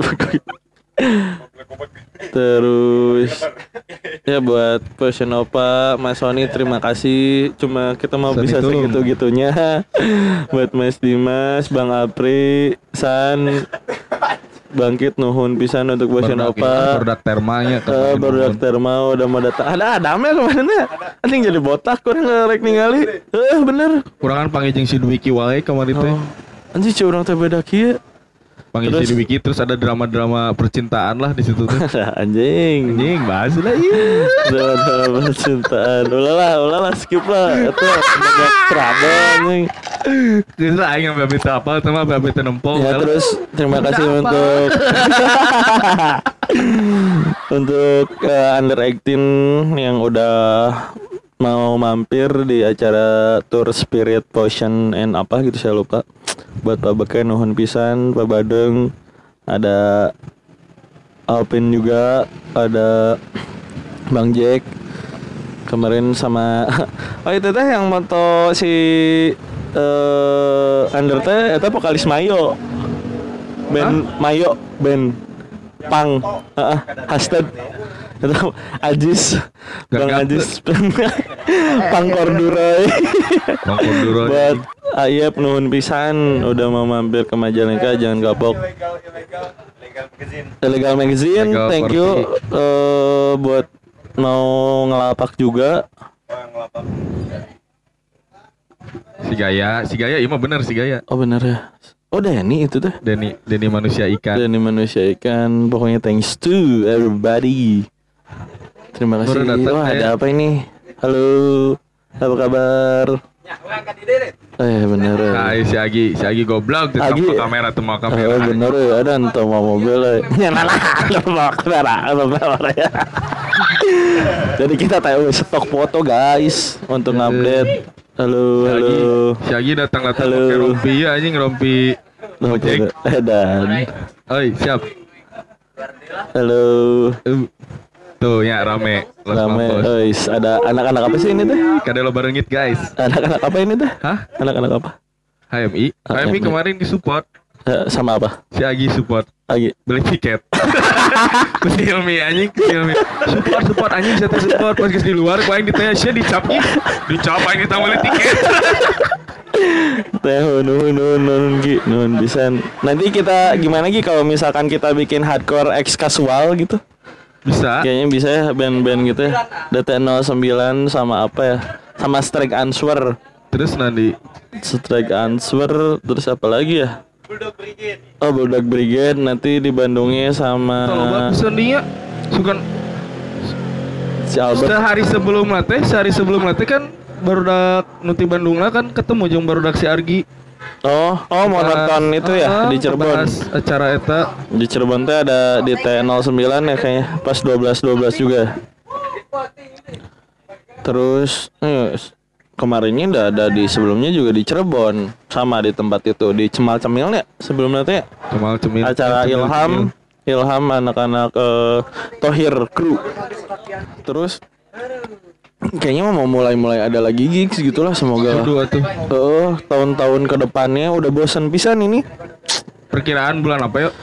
Terus ya buat Passion Opa, Mas Sony terima kasih. Cuma kita mau Sani bisa segitu-gitunya. Buat Mas Dimas, Bang Apri, San, bangkit nuhun pisan untuk Bosin Opa. Barudak termanya barudak terma udah mau datang. Ada Adamnya kemana nih? Anjing jadi botak kurang ngerek ningali. Bener. Kurangan panggil si Dwiki wae kemarin teh. Anjing curang teh beda kieu. Panggil si Dwiki terus ada drama-drama percintaan lah di situ tuh. Anjing bahas lah iya. Drama percintaan. Ulala skip lah. Itu banyak trouble anjing. Terus aing sampai beta apa sama beta nempol. Ya terus terima kasih untuk under 18 yang udah mau mampir di acara Tour Spirit Potion and apa gitu saya lupa. Buat Pak Beken nuhun pisan, Pak Badeng, ada Alpin juga, ada Bang Jack kemarin sama itu teh yang moto si under teh eta vokalis Mayo. Band Pang hashtag itu Ajis Bang Ajis Pang Korduroy buat Ayep nuhun pisan udah mau mampir ke Majalengka jangan kapok Illegal Magazine thank you buat mau ngelapak juga si Gaya iya mah bener si Gaya oh bener ya. Oh Denny itu tuh Denny manusia ikan pokoknya thanks to everybody. Terima kasih. Ada apa ini? Halo, apa kabar? Bener. Nah, si Agi goblok di kamera tuh mau kamera. Bener ya, ada entah mau mobil nyala mau kamera ya. Jadi kita tahu stok foto guys untuk update. Halo. Si Agi datang pakai rompi ya anjing rompi. Dan. Oi, siap. Halo. Tuh ya rame. Ada anak-anak apa sih ini teh? Kada lo barengit guys. Anak-anak apa ini teh? Hah? Anak-anak apa? HMI kemarin disupport. Sama apa? Si Agi support. Beli tiket. Si Hilmi anjing, support anjing saya support pas di luar ku aing ditanya sia dicap aing kita beli tiket. Nuhun pisan. Nanti kita gimana Gi kalau misalkan kita bikin hardcore X casual gitu? Bisa. Kayaknya bisa ya band-band gitu ya. DT09 sama apa ya? Sama Strike Answer. Terus nanti Strike Answer terus apa lagi ya? Bulldog Brigade nanti di Bandungnya sama kalau bagus dia suka si Albert. Sehari sebelum latih kan barudak nuti Bandung lah kan ketemu jeung barudak si Argi. Oh mau nonton itu ya di Cirebon. Acara eta di Cirebon teh ada di T09 ya kayaknya pas 12 juga. Terus kemarinnya udah ada di sebelumnya juga di Cirebon sama di tempat itu di Cemal Cemil ya sebelumnya teh. Cemal Cemil. Acara Ilham anak-anak Tohir Crew. Terus kayaknya mau mulai ada lagi gigs gitulah semoga. Tahun-tahun ke depannya udah bosan pisan ini. Perkiraan bulan apa yuk?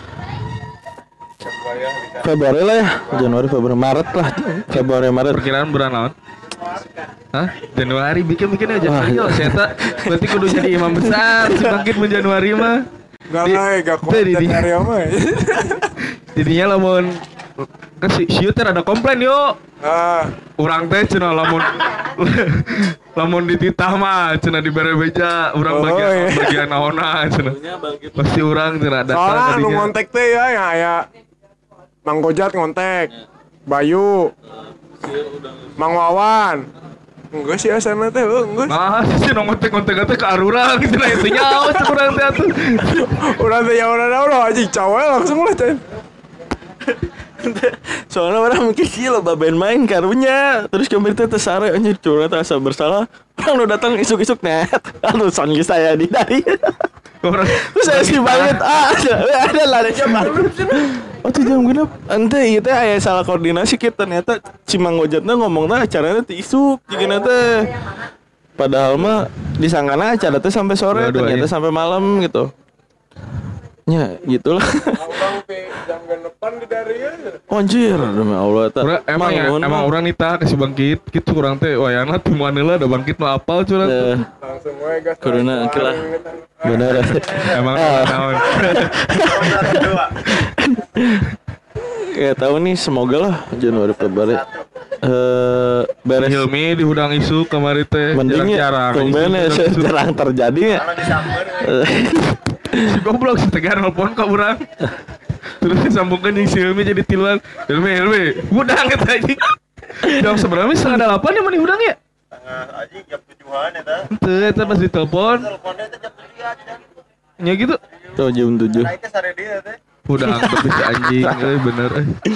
Februari lah ya. Januari, Februari, Maret lah. Februari, Maret. Perkiraan bulan naon? Hah? Januari bikin aja Januari yo. Saya berarti kudu jadi imam besar si bangkit mun Januari mah. Gak kuat Januari mah. Jadinya lamun kan si teh ada komplain yo. Urang teh cenah lamun dititah mah cenah dibere beja urang bagian naonna cenah. Pasti urang cenah datang tadinya. Soalnya nu ngontek teh ya aya Mang Gojat ngontek, Bayu, Mang Wawan. Enggak sih asana teh, enggak. Nah, sih ngontek teh ke arurang cenah itu nyawa urang teh atuh. Urang teh ya urang anjing cawel langsung lah teh. Soalnya orang mungkin gila baben main karunya terus kemarin teh sare anjir curhat rasa bersalah orang udah datang isuk-isuk net lalu songi saya di dari terus saya sih banget ada lah ada jam tuh jam genap ente iya teh aya salah koordinasi kita ternyata Cimang Gojatna ngomongnya acaranya teh isuk jigana teh padahal mah disangkana acara teh sampai sore ternyata sampai malam gitu. Ya gitulah. Jam depan di dari anjir demi Allah emang orang nita kasih bangkit gitu kurang teh wayana tim Manila ada bangkit mah apal curhat langsung we gas corona kilah bener emang tahun Ya tahu nih, semoga lah Januari Februari beres. Hilmi diundang isu kemarin teh jarang-jarang. Jarang terjadi ya. Si goblok si Tegar nelpon ka urang. Terus disambungkan yang si Hilmi jadi tiluan. Hilmi, udang eta anjing. Jam seberapa 7:30 ya mana udang ya? Anjing jam 7-an eta. Teu eta pas ditelepon. Teleponnya teh jam 7 aja. Nya gitu. Tuh jam 7. Nah, itu sare dia teh. Udang tapi si anjing bener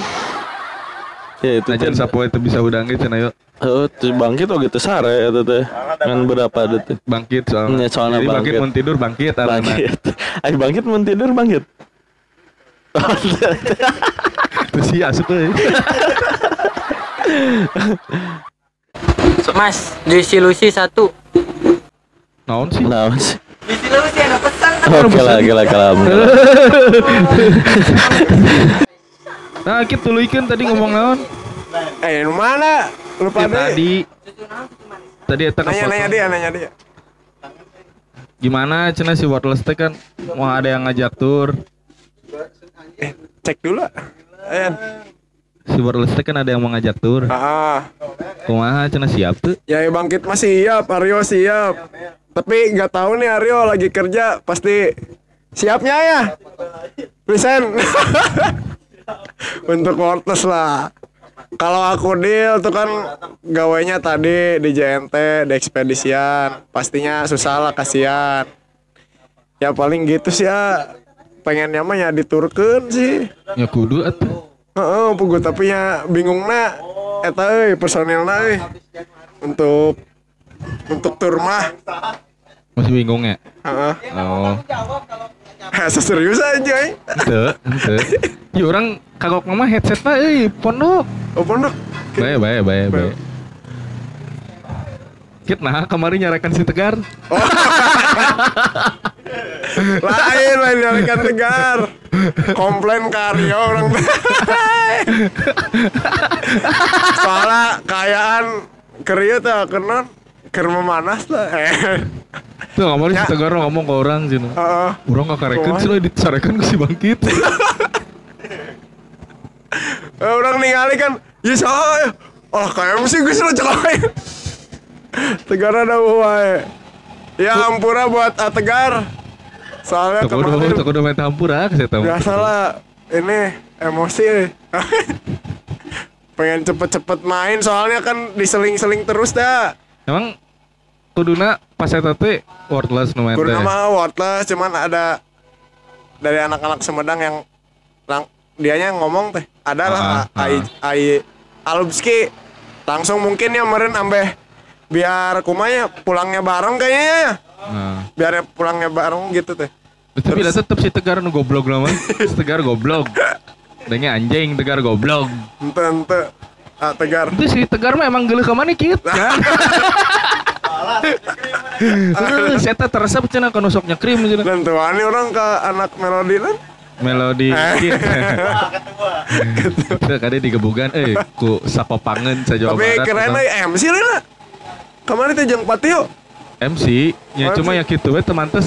Ya itu aja sapoe teh bisa udang ge cenah yo. Oh, tuh bangkit oh gitu sare eta teh. Kan berapa detik? Bangkit soalnya. Soalnya bangkit mun tidur bangkit bangkit. Ai bangkit mun tidur bangkit. Terus si asup euy. Mas, juicy Lucy 1. Naon sih? Juicy Lucy ada pesan. Oke lah. Nah, kita tuluikeun tadi ngomong naon? Nu mana? Lupa deh. Tadi eta nanya dia. Gimana cenah si Wordless teh kan mau ada yang ngajak tur. Cek dulu. Ayan. Si Wordless teh kan ada yang mau ngajak tur. Kumaha cenah siap tuh? Ya Bangkit mah siap, Aryo siap. Tapi nggak tahu nih Aryo lagi kerja, pasti siapnya ya. Present. Untuk Wordless lah. Kalau aku deal tuh kan gawainya tadi di JNT, di ekspedisian, pastinya susah lah, kasihan. Ya paling gitu sih ya. Pengennya mah ya diturkeun sih. Ya kudu atuh. Pugu tapi ya bingungna eta euy personilna euy. Untuk tur mah masih bingung ya? Oh. Serius aja euy. Henteu. Ya orang kagok mah headset mah euy pondok. Oh pondok. Bae. Nah kemarin nyarekan si Tegar. Lain nyarekan Tegar. Komplain karya orang. Soalnya kayaan kerja tuh kena memanas lah. Tuh kemarin si Tegar ngomong ke orang sih. Orang gak karekan sih lah disarekan ke si Bangkit. Orang ningali kan, ya soalnya, kayak mesti gue suruh cekain. Tegar ada wae. Ya ampura buat Tegar. Soalnya kemarin tak udah main hampura saya tahu. Biasalah ini emosi. Pengen cepet-cepet main soalnya kan diseling-seling terus dah. Emang kuduna pas eta teh Wordless nu main teh. Kuduna mah Wordless cuman ada dari anak-anak Sumedang yang dianya ngomong teh. Adalah Ai Alubski langsung mungkin ya meren ambeh biar kumanya pulangnya bareng kayaknya ya. Biar pulangnya bareng gitu teh. Tapi tetep si Tegar nu goblok nama. Si Tegar goblok. Denge anjing Tegar goblok. Ente. Tegar. Itu si Tegar mah emang geuleuh ka mana kieu kan. Saya teh teresep cenah kana sok nyekrim cenah. Dan tuh ani orang ke anak Melody kan. Melody Kid. Ketua. Kade digebugan ku sapopangeun sa Jawa Barat. Tapi keren MC lah. Kemarin teh jeung Patio. MC nya cuma yang kitu we teu mantes.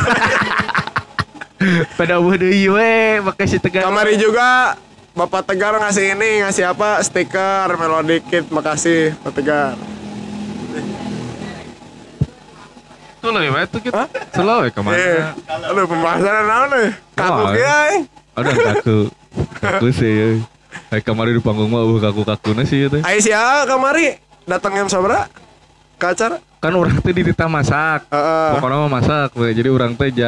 Pada deui we make si Tegar. Kamari juga Bapak Tegar ngasih apa? Stiker Melody Kid. Makasih Pak Tegar. Tuh lah ya itu kita selalu kemana? Aduh pembahasan naon nih? Kaku kieu. Ada kaku sih. Kemarin di panggung mah kaku-kakuna sih itu. Ai sia kamari datang jam sabaraha? Ka acara? Kan orang teh di ditah masak. Pokoknya mah masak we. Jadi orang teh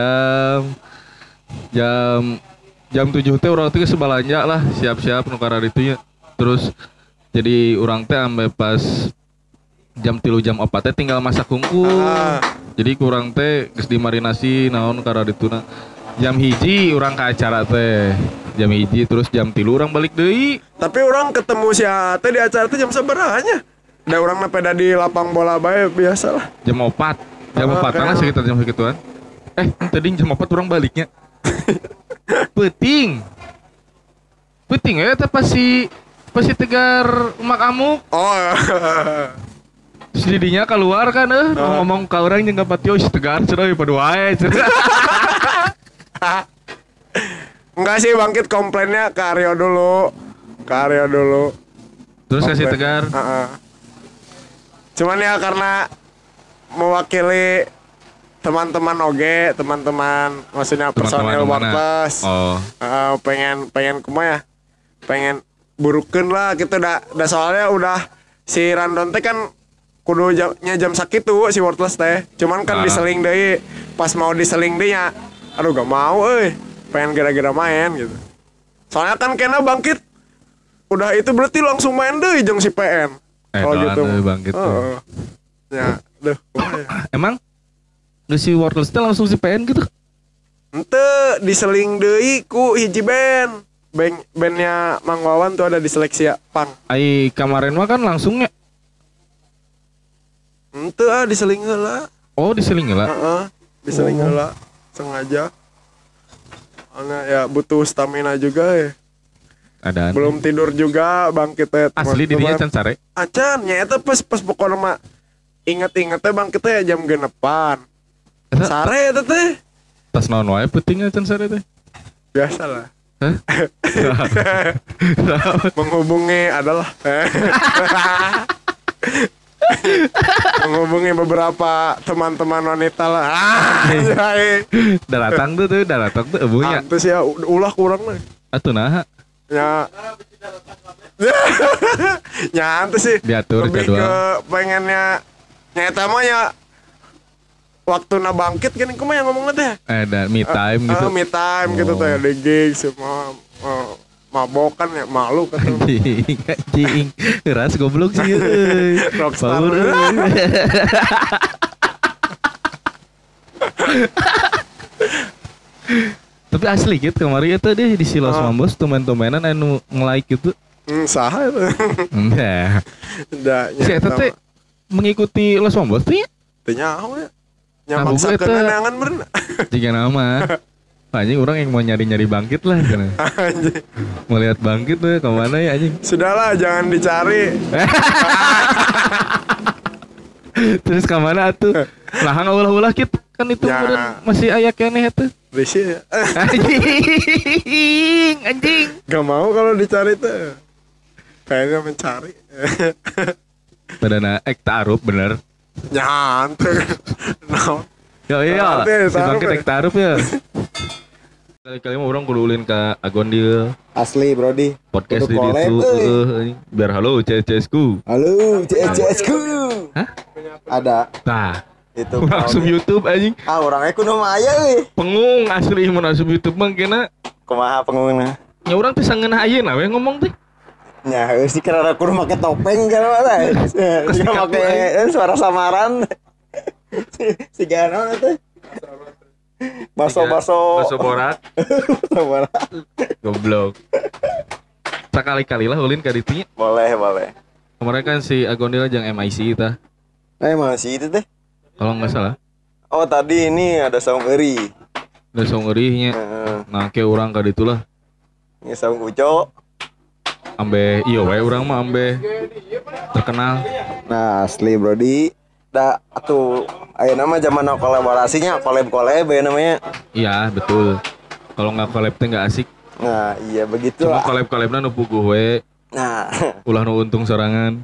jam 7 teh orang teh sebalanja lah siap-siap nu karena ditu nya. Terus jadi orang teh ampe pas jam 3 jam 4 teh tinggal masak hungkul. Jadi kurang teh geus dimarinasi naon karena dituna. Jam 1 urang ke acara teh. Jam 1 terus jam 3 urang balik deui. Tapi orang ketemu si Ate di acara teh jam sabaraha nya? Da urang mah pada di lapang bola bae biasalah. Jam 4. Jam 4 lah sekitar jam segituan. Tadi jam 4 urang baliknya. Penting ya teh pasti Tegar Mak Amuk. Sedidinya keluar kan ngomong ke orang yang gak patio si Tegar cenah pada wae cenah. Enggak sih bangkit komplainnya ke Aryo dulu. Terus kasih tegar. Cuman ya karena mewakili teman-teman oge, teman-teman maksudnya personil Worthless. Pengen kumaha ya? Pengen burukeun lah gitu dah soalnya udah si Randon teh kan kudu jam sakitu si Worthless teh. Cuman kan diseling deui. Pas mau diseling deui nya aduh gak mau pengen gara-gara main gitu. Soalnya kan kena bangkit udah itu berarti langsung main deh jeung si PN. Kalau gitu bangkit. Ya, Emang si Worthless teh langsung si PN gitu? Henteu, diseling deui ku hiji band. Bandnya Mang Wawan tuh ada di seleksi ya, Pang. Ai kemarin mah kan langsungnya. Henteu diseling heula. Oh, diseling heula. Diseling heula sengaja. Karena ya butuh stamina juga ya. Adaan. Belum tidur juga bangkit teh. Asli dirinya can sare. Acan nya eta pas pokona mah inget-inget teh bangkit teh jam 6-an. Sare eta teh. Tas naon wae penting can sare teh. Biasalah. Menghubungi adalah menghubungi beberapa teman-teman wanita lah. Datang tuh ebunya. Terus ya ulah kurang mah. Atuh naha? Ya. Nyantai sih. Diatur lebih jadwal. ke pengennya nyata mah ya waktu na bangkit kan kumaha yang ngomongnya teh. Dan me time gitu. Me time gitu teh di gig semua mabokan ya malu kata. Anjing. Keras goblok sih euy. Rockstar. Tapi asli gitu kemarin itu deh di Silos Mambos teman-temanan anu nge-like gitu. Saha itu. Enggak. Si eta teh mengikuti Los Mambos tuh ya? Teu nyaho ya. Nya maksakeun neangan meureun. Tiga nama. Anjing orang yang mau nyari-nyari bangkit lah kan. Anjing. Mau lihat bangkit tuh kemana ya anjing. Sudahlah jangan dicari. Terus kemana tuh? Lah ulah-ulah kit kan itu masih aya keneh tuh. Risi ya. Anjing. Gak mau kalau dicari tuh. Kayaknya mencari. Padahal ta'aruf bener. Nyantai. No. Ya si bangkit ta'aruf ya. Kali-kali mah orang kudu ulin ke Agondil. Asli Brody. Podcast di situ. Biar halo CS-ku. Halo CS-ku. Hah? Ada. Nah. Itu langsung YouTube anjing. Orangnya kudu mah aya euy. Pengung asli mun asup YouTube mah kena. Kumaha pengungna? Ya urang teh sangeunah ayeuna we ngomong teh. Nya euy si karena kudu make topeng kan mah. Jika make suara samaran. Si gana teh. Baso borak. Goblok. Sekali-kali lah ulin ka ditu nya. Boleh. Kemarin kan si Agondil jeung MIC tah. MIC itu teh. Kalau nggak salah. Oh tadi ini ada saung eri. Ada saung erihnya. Nah kayak orang kali itulah. Ini saung uco. Ambe iyo we orang mah ambe terkenal. Nah asli Brody. Da atuh aya nama zaman kolaborasinya collab ya namanya. Iya betul. Kalau nggak collab teh nggak asik. Nah iya begitu. Cuma collab-collabna nu puguh we. Nah, ulah nu untung sorangan.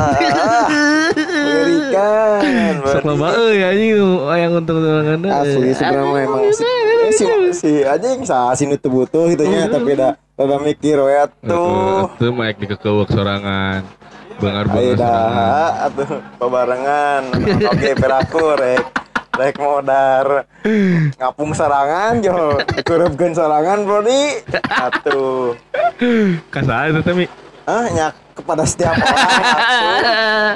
Mengerikan. Sok loba euy anjing aya untung sorangan. Asli sebenarnya emang si anjing sasi nu teu butuh gitu nya tapi da mikir we atuh. Teu mah ek dikekeuweuk sorangan. Beungar-beungar sorangan. Atuh babarengan. Oke perakur rek modar ngapung sorangan jo kurupkeun sorangan Brody. Atuh. Kasaha eta teh Mi? Nya kepada setiap orang.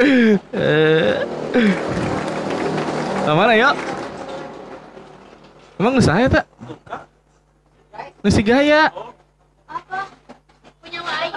Mana yuk? Emang nggak saya tak? Nasi gaya. Apa? Punya Wai.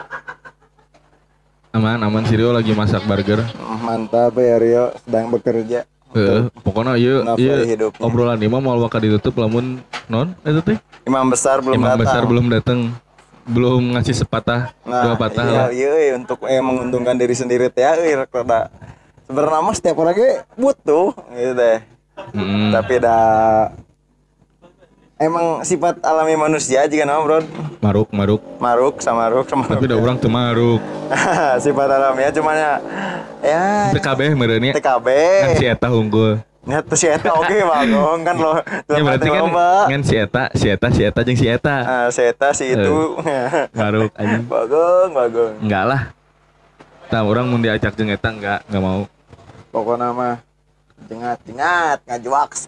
Aman si Rio lagi masak burger. Mantap ya Rio sedang bekerja. Pokoknya iya obrolan ini mah mau bakal ditutup lamun non itu teh. Imam besar belum datang. Belum ngasih sepatah dua patah lah. Iya untuk menguntungkan diri sendiri teh rada sebenarnya mah setiap orang ge butuh gitu deh. Tapi emang sifat alami manusia juga nama bro. Maruk sama tapi udah orang tuh maruk. Sifat alaminya cuman ya TKB merenya TKB kan si eta unggul nggak tuh si eta oke bagong kan lo ya berarti kan si eta jeung si eta si eta si itu maruk anjing bagong enggak lah nah orang mau diajak jeung eta enggak mau pokoknya mah jengat ngajuaks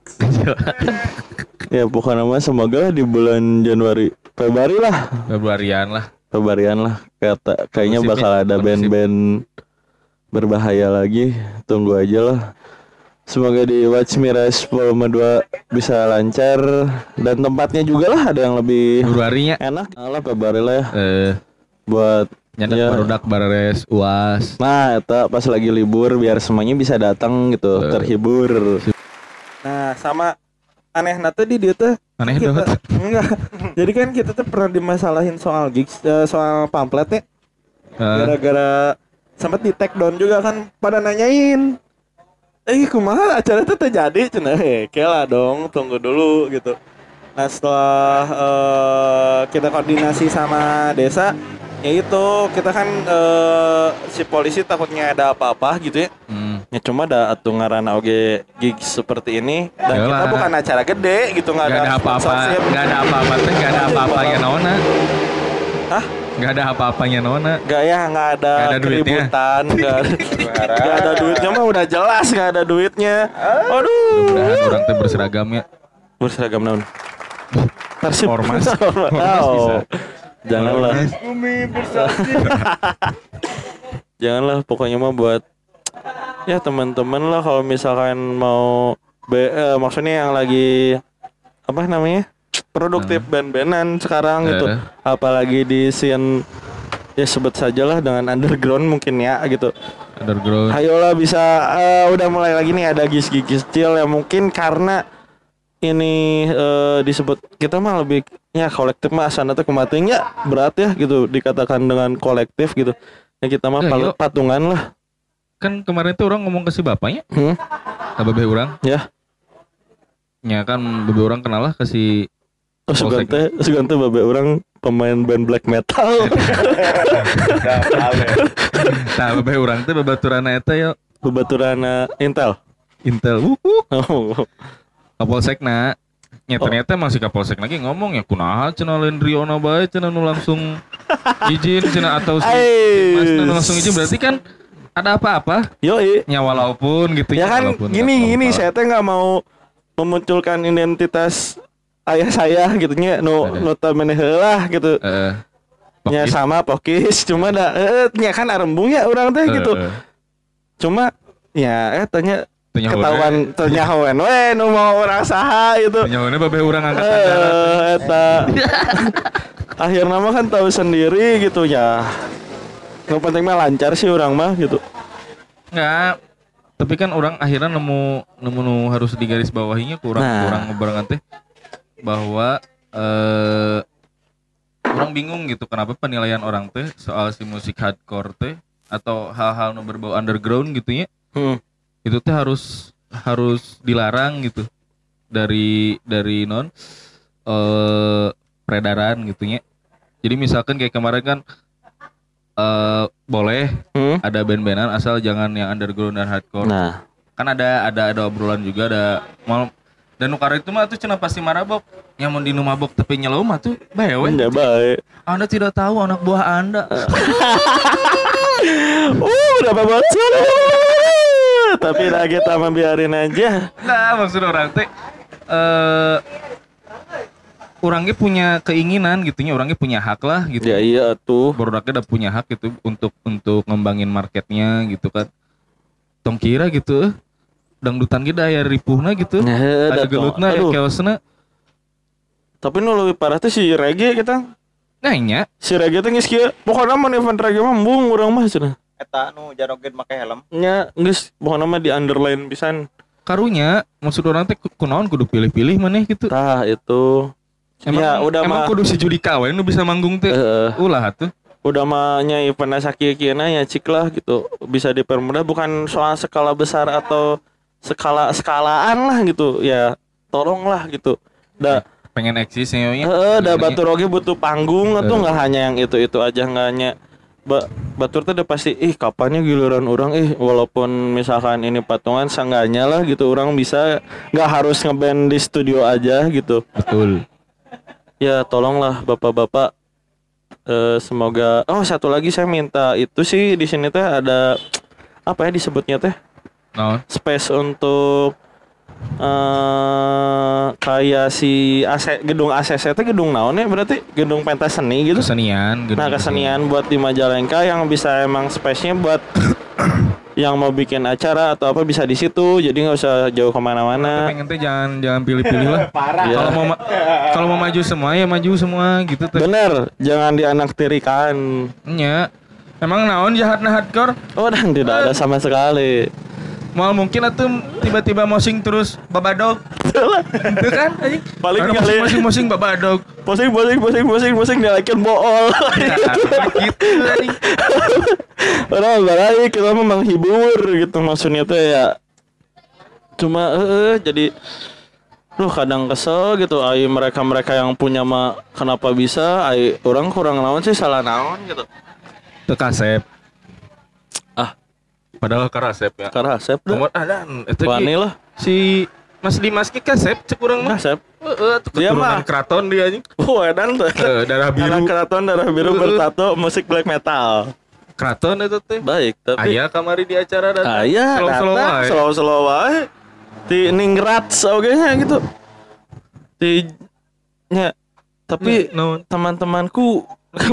ya pokoknya mah semoga di bulan Februarian lah kayaknya bakal ada band-band berbahaya lagi. Tunggu aja lah. Semoga di Watch Me Rise volume 2 bisa lancar dan tempatnya juga lah ada yang lebih Februarinya enak. Lah Februari lah ya. Buat nyandak ya. Barudak bares UAS. Nah, itu pas lagi libur biar semuanya bisa datang gitu, terhibur. Nah, sama anehna tuh di dia tuh aneh kita, enggak. Jadi kan kita tuh pernah dimasalahin soal gigs, soal pamflet ya. Gara-gara sempat di take down juga kan pada nanyain. Kumaha acara itu terjadi? Cenah kela dong, tunggu dulu gitu. Nah, setelah kita koordinasi sama desa, ya itu kita kan si polisi takutnya ada apa-apa gitu ya. Ya cuma ada atuh ngaranna oge gigs seperti ini dan kita bukan acara gede gitu, nggak ada apa-apa, nggak ada apa-apanya nona. Hah? Nggak ada apa-apanya nona. Nggak ada keributan, nggak ada duitnya mah udah jelas nggak ada duitnya. Aduh. Mudah-mudahan orang teh berseragam ya. Berseragam naon? Ormas. Oh. Janganlah. Janganlah pokoknya mah buat ya teman-teman lah kalau misalkan mau maksudnya yang lagi apa namanya? Produktif band-bandan sekarang gitu. Apalagi di scene ya sebut sajalah dengan underground mungkin ya gitu. Underground. Ayolah bisa udah mulai lagi nih ada gis-gis kecil ya mungkin karena ini disebut kita mah lebih ya kolektif mah asana tuh kematiannya berat ya gitu dikatakan dengan kolektif gitu. Ya kita mah patungan lah. Kan kemarin tuh orang ngomong ke si bapaknya. Ke bebe orang. Ya. Ya kan bebe orang kenal lah ke si Sugante babe orang pemain band black metal. Nah, babe orang teh babaturana eta ya. Babaturana Intel. Kapolsekna. Ya ternyata masih kapolsek lagi ngomong ya kunaha cenah lain Riona bae cenah nu langsung izin cenah atau si Masna nu langsung izin berarti kan ada apa-apa. Yoi. Ya walaupun gitu ya kan gini saya teh enggak mau memunculkan identitas ayah saya gitu nya notabene heula gitu. Nya sama Pokis cuma da nya kan arembungnya urang teh gitu. Cuma ya tanya ketahuan ternyahoan we nu mau urang saha gitu. Ternyahoanna babe urang angkatan darat. Eta. Akhirna mah kan tahu sendiri gitu ya. Yang penting mah lancar sih urang mah gitu. Enggak. Tapi kan orang akhirnya nemu harus digaris bawahinya kurang ngebarengan teh bahwa orang bingung gitu kenapa penilaian orang teh soal si musik hardcore teh atau hal-hal yang berbau underground gitu ya itu teh harus dilarang gitu dari non peredaran gitu ya. Jadi misalkan kayak kemarin kan boleh ada band-bandan asal jangan yang underground dan hardcore. Nah, kan ada obrolan juga ada mal dan nukar itu mah tuh cenah pasti marabok. Yang mau di mabok tapi nyelom mah tuh bae we. Enggak baik. Anda tidak tahu anak buah Anda. Berapa bocor. Tapi dah kita biarin aja. Nah, maksud orang teh orangnya punya keinginan gitunya, orangnya punya hak lah gitu. Ya iya tuh. Produknya udah punya hak gitu untuk ngembangin marketnya gitu kan. Tong kira gitu. Dangdutan kita aya ripuhna gitu. Ada gelutna aya keosna. Tapi nu leuwih parah teh si reggae kita. Nah nya. Si reggae teh geus kieu. Pokona mah event reggae mah embung urang mah cenah. Eta nu jaroget make helm. Nya geus pokona mah di underline pisan. Karunya maksud orang teh kunaon kudu pilih-pilih maneh gitu. Tah itu. Emang kudu si Judika we nu bisa manggung teh. Ulah atuh. Udah mah nya event sakieu-kieuna ya cik lah gitu. Bisa dipermudah bukan soal skala besar atau skalaan lah gitu. Ya tolonglah gitu. pengen eksis ya. Da batur oge butuh panggung atau nggak hanya yang itu aja, nggak hanya batur tuh udah pasti kapannya giliran orang walaupun misalkan ini patungan seenggaknya lah gitu orang bisa nggak harus ngeband di studio aja gitu. Betul. Ya tolonglah bapak-bapak, semoga. Oh satu lagi saya minta itu sih di sini teh ada apa ya disebutnya teh space untuk kayak si gedung ACC itu gedung naon ya berarti gedung pentas seni gitu. Kesenian. Kesenian buat di Majalengka yang bisa emang space-nya buat yang mau bikin acara atau apa bisa di situ, jadi nggak usah jauh kemana-mana. Pengen teh jangan pilih-pilih lah. Ya. Kalau mau maju semua ya maju semua gitu teh. Bener, jangan dianaktirikan. Nya. Emang naon jahatna hardcore? Oh dan tidak ada sama sekali. Mal mungkin atuh tiba-tiba mosing terus babadog. Itu kan anjing. Paling kali mosing babadog. Mosing dilakin bool. Gitu anjing. Orang balik kita memang hibur gitu maksudnya tuh ya. Cuma jadi kadang kesel gitu mereka yang punya mah kenapa bisa orang kurang naon sih salah naon gitu. Teu kasep. Padahal karasep ya. Karasep dah. Nomor ada itu wani lah. Si Mas Dimas ki kasep cek urang mah. Kasep. Dia mah keraton dia anjing. Edan tuh. Darah biru. Anak keraton darah biru bertato musik black metal. Keraton itu teh. Baik, tapi aya kamari di acara datang. Aya slow wae. Ti ningrat oge nya gitu. Ti nya tapi teman-temanku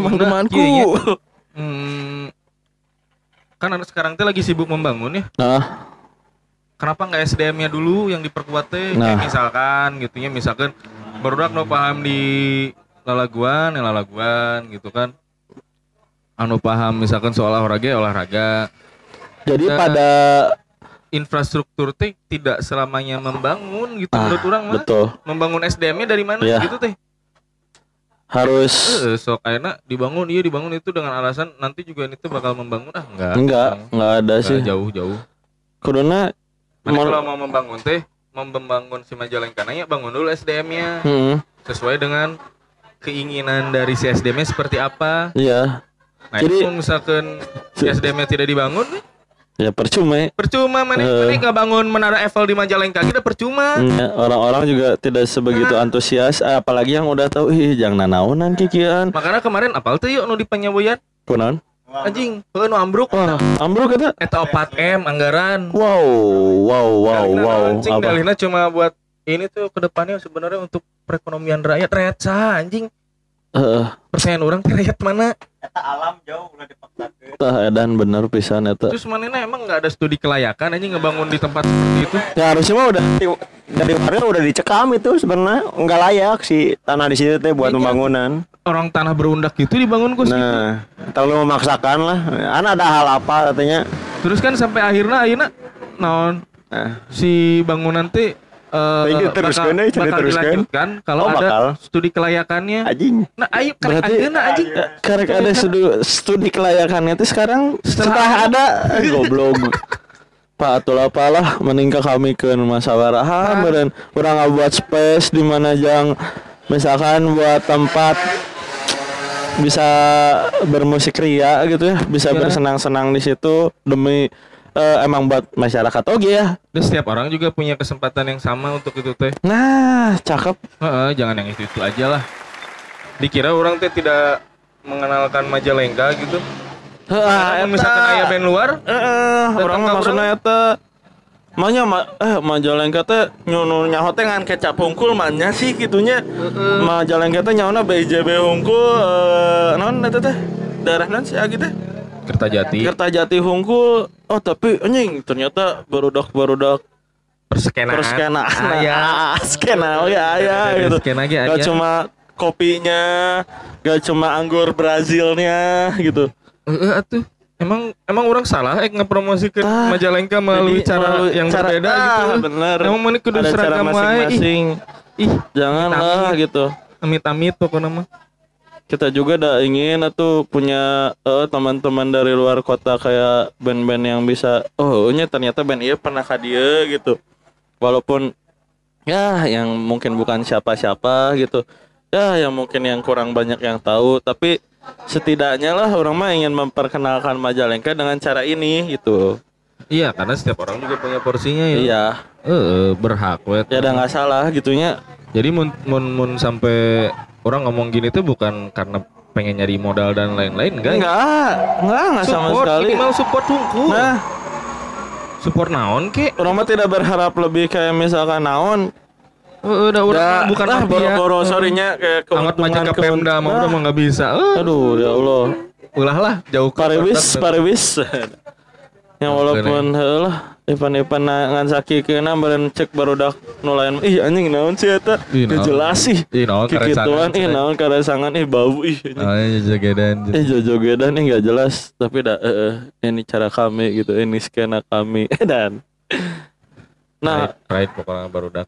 kan sekarang teh lagi sibuk membangun ya. Kenapa nggak SDM-nya dulu yang diperkuat teh? Kayak misalkan barudak no paham di lalaguan gitu kan. Anu paham misalkan soal olahraga. Jadi pada infrastruktur teh tidak selamanya membangun gitu menurut orang mah. Betul. Membangun SDM-nya dari mana gitu teh. Harus sok ayeuna dibangun itu dengan alasan nanti juga ini tuh bakal membangun enggak ada sih jauh kuduna kalau mau membangun si Majalengka ya bangun dulu SDM-nya sesuai dengan keinginan dari si SDM-nya seperti apa. Iya. Nah jadi misalkan si SDM-nya tidak dibangun ya percuma mana nggak bangun menara Eiffel di Majalengka kita percuma. Orang-orang juga tidak sebegitu antusias apalagi yang udah tahu jangan nanaonan kikian. Makanya kemarin apal tuh yuk nu di Panyaboyan kunaon anjing nu ambruk eta 4M anggaran. Wow anjing dalihna cuma buat ini tuh kedepannya sebenarnya untuk perekonomian rakyat anjing. Pertanyaan orang rakyat mana? Eta alam jauh udah dipaksakeun. Edan bener pisan eta. Terus manehna emang enggak ada studi kelayakan anjing ngebangun di tempat seperti itu? Ya harusnya mah udah dari kemarin udah dicekam itu sebenarnya enggak layak sih tanah di situ teh buat pembangunan. Orang tanah berundak itu dibangun kok. Nah, terlalu memaksakan lah. Ada hal apa katanya. Terus kan sampai akhirnya naon si bangunan teh bakal dilanjutkan kalau ada studi kelayakannya. Anjing. Nah, ayo karek ada studi kelayakannya itu sekarang setelah ada goblok. Pak atuh apalah meningkat kami ke musyawarah dan urang buat space di mana yang misalkan buat tempat bisa bermusik ria gitu ya, bisa bersenang-senang di situ demi emang buat masyarakat ya. Dan setiap orang juga punya kesempatan yang sama untuk itu teh. Nah, cakep. Jangan yang itu aja lah. Dikira orang teh tidak mengenalkan Majalengka gitu. Misalkan aya band luar, orang maksudnya eta Majalengka teh nyaho teh ngan kecap hungkul mannya sih gitunya. Majalengka teh nyaona BJB hungkul naon eta teh? Daerah naon sih gitu teh? Kertajati hungkul. Oh tapi anjing ternyata barudak perskenaan skena gitu. Gak cuma kopinya, gak cuma anggur Brazilnya gitu. Atuh emang orang salah ngepromosikan Majalengka melalui cara yang berbeda gitu. Bener. Emang mana kudu seragam masing-masing. Janganlah gitu. Amit-amit pokoknya mah. Kita juga ingin punya teman-teman dari luar kota kayak band-band yang bisa ternyata band iya pernah ka dieu gitu. Walaupun ya yang mungkin bukan siapa-siapa gitu. Ya yang mungkin yang kurang banyak yang tahu, tapi setidaknya lah orang mah ingin memperkenalkan Majalengka dengan cara ini gitu. Iya, karena setiap orang juga punya porsinya ya. Iya. Berhak wet. Ya udah nggak salah gitunya. Jadi mun sampai orang ngomong gini tuh bukan karena pengen nyari modal dan lain-lain, enggak sama sekali. Minimal support hungkul. Nah, support naon ke? Orang mah tidak berharap lebih kayak misalkan naon. Udah bukan lah boro-boro sorrynya kayak amat macam ke Pemda mah udah mah nggak bisa. Aduh ya Allah. Ulah lah jauh ke Pariwis. Yang walaupun lah Ipan ngan sakikeuna beren cek barudak nu lain. Ih anjing naon sih eta? Teu jelas sih. Naon karesangan. Naon karesangan bau jogedan. Jogedan enggak jelas, tapi ini cara kami gitu, ini skena kami dan nah, right pokoknya barudak.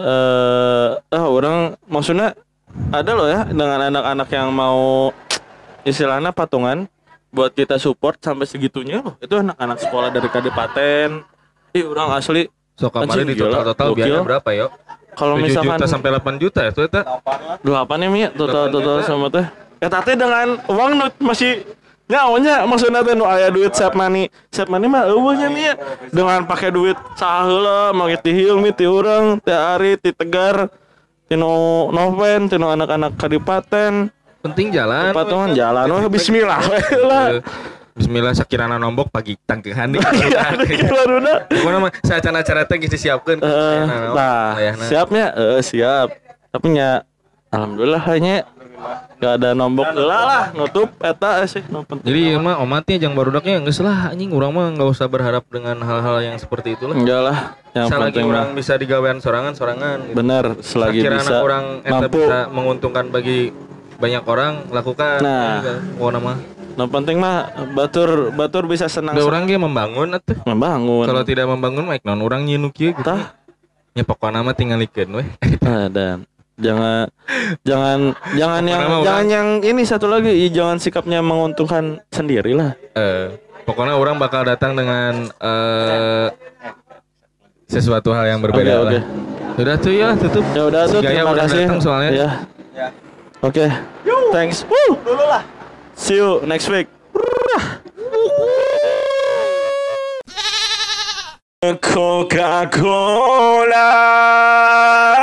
Orang maksudnya ada loh ya dengan anak-anak yang mau istilahnya patungan buat kita support sampai segitunya loh. Itu anak-anak sekolah dari Kadipaten. Orang asli. So kemarin di total biayanya berapa yo? Kalau misalkan 7 juta sampai 8 juta ya itu 8 ya Mia total sama teh. Tapi dengan uang masih nyaonya maksudnya teh nu aya duit save money mah eueuhnya Mia. Dengan pakai duit saheula make ti Hilmi ti urang, ti Ari, ti Tegar, ti Noven, ti anak-anak Kadipaten. Penting jalan. Patungan jalan bismillah lah. Bismillah sakirana nombok pagi tangkehan nih. Pokoknya mah acara-acara teh geus disiapkeun. Siapnya siap. Tapi nya alhamdulillah hanya gak ada nombok lah nutup eta sih. Jadi mah omatnya jeung barudaknya geus lah anjing urang mah enggak usah berharap dengan hal-hal yang seperti itulah. Enggak lah. Yang selagi orang bisa digawean sorangan gitu. Bener, selagi bisa orang mampu bisa menguntungkan bagi banyak orang lakukan. Nah, nama. Nah penting mah batur bisa senang. Orang ge membangun atuh. Membangun. Kalau tidak membangun mah non orang nyienu kieu gitu. Ya pokona mah tinggalikeun we. Dan jangan yang ini satu lagi, jangan sikapnya menguntungkan sendiri lah. Pokoknya orang bakal datang dengan sesuatu hal yang berbeda lah. Udah tuh ya tutup. Ya udah tuh. Terima kasih. Soalnya. Ya. Oke. Thanks. Dulu lah. See you next week. Coca-Cola.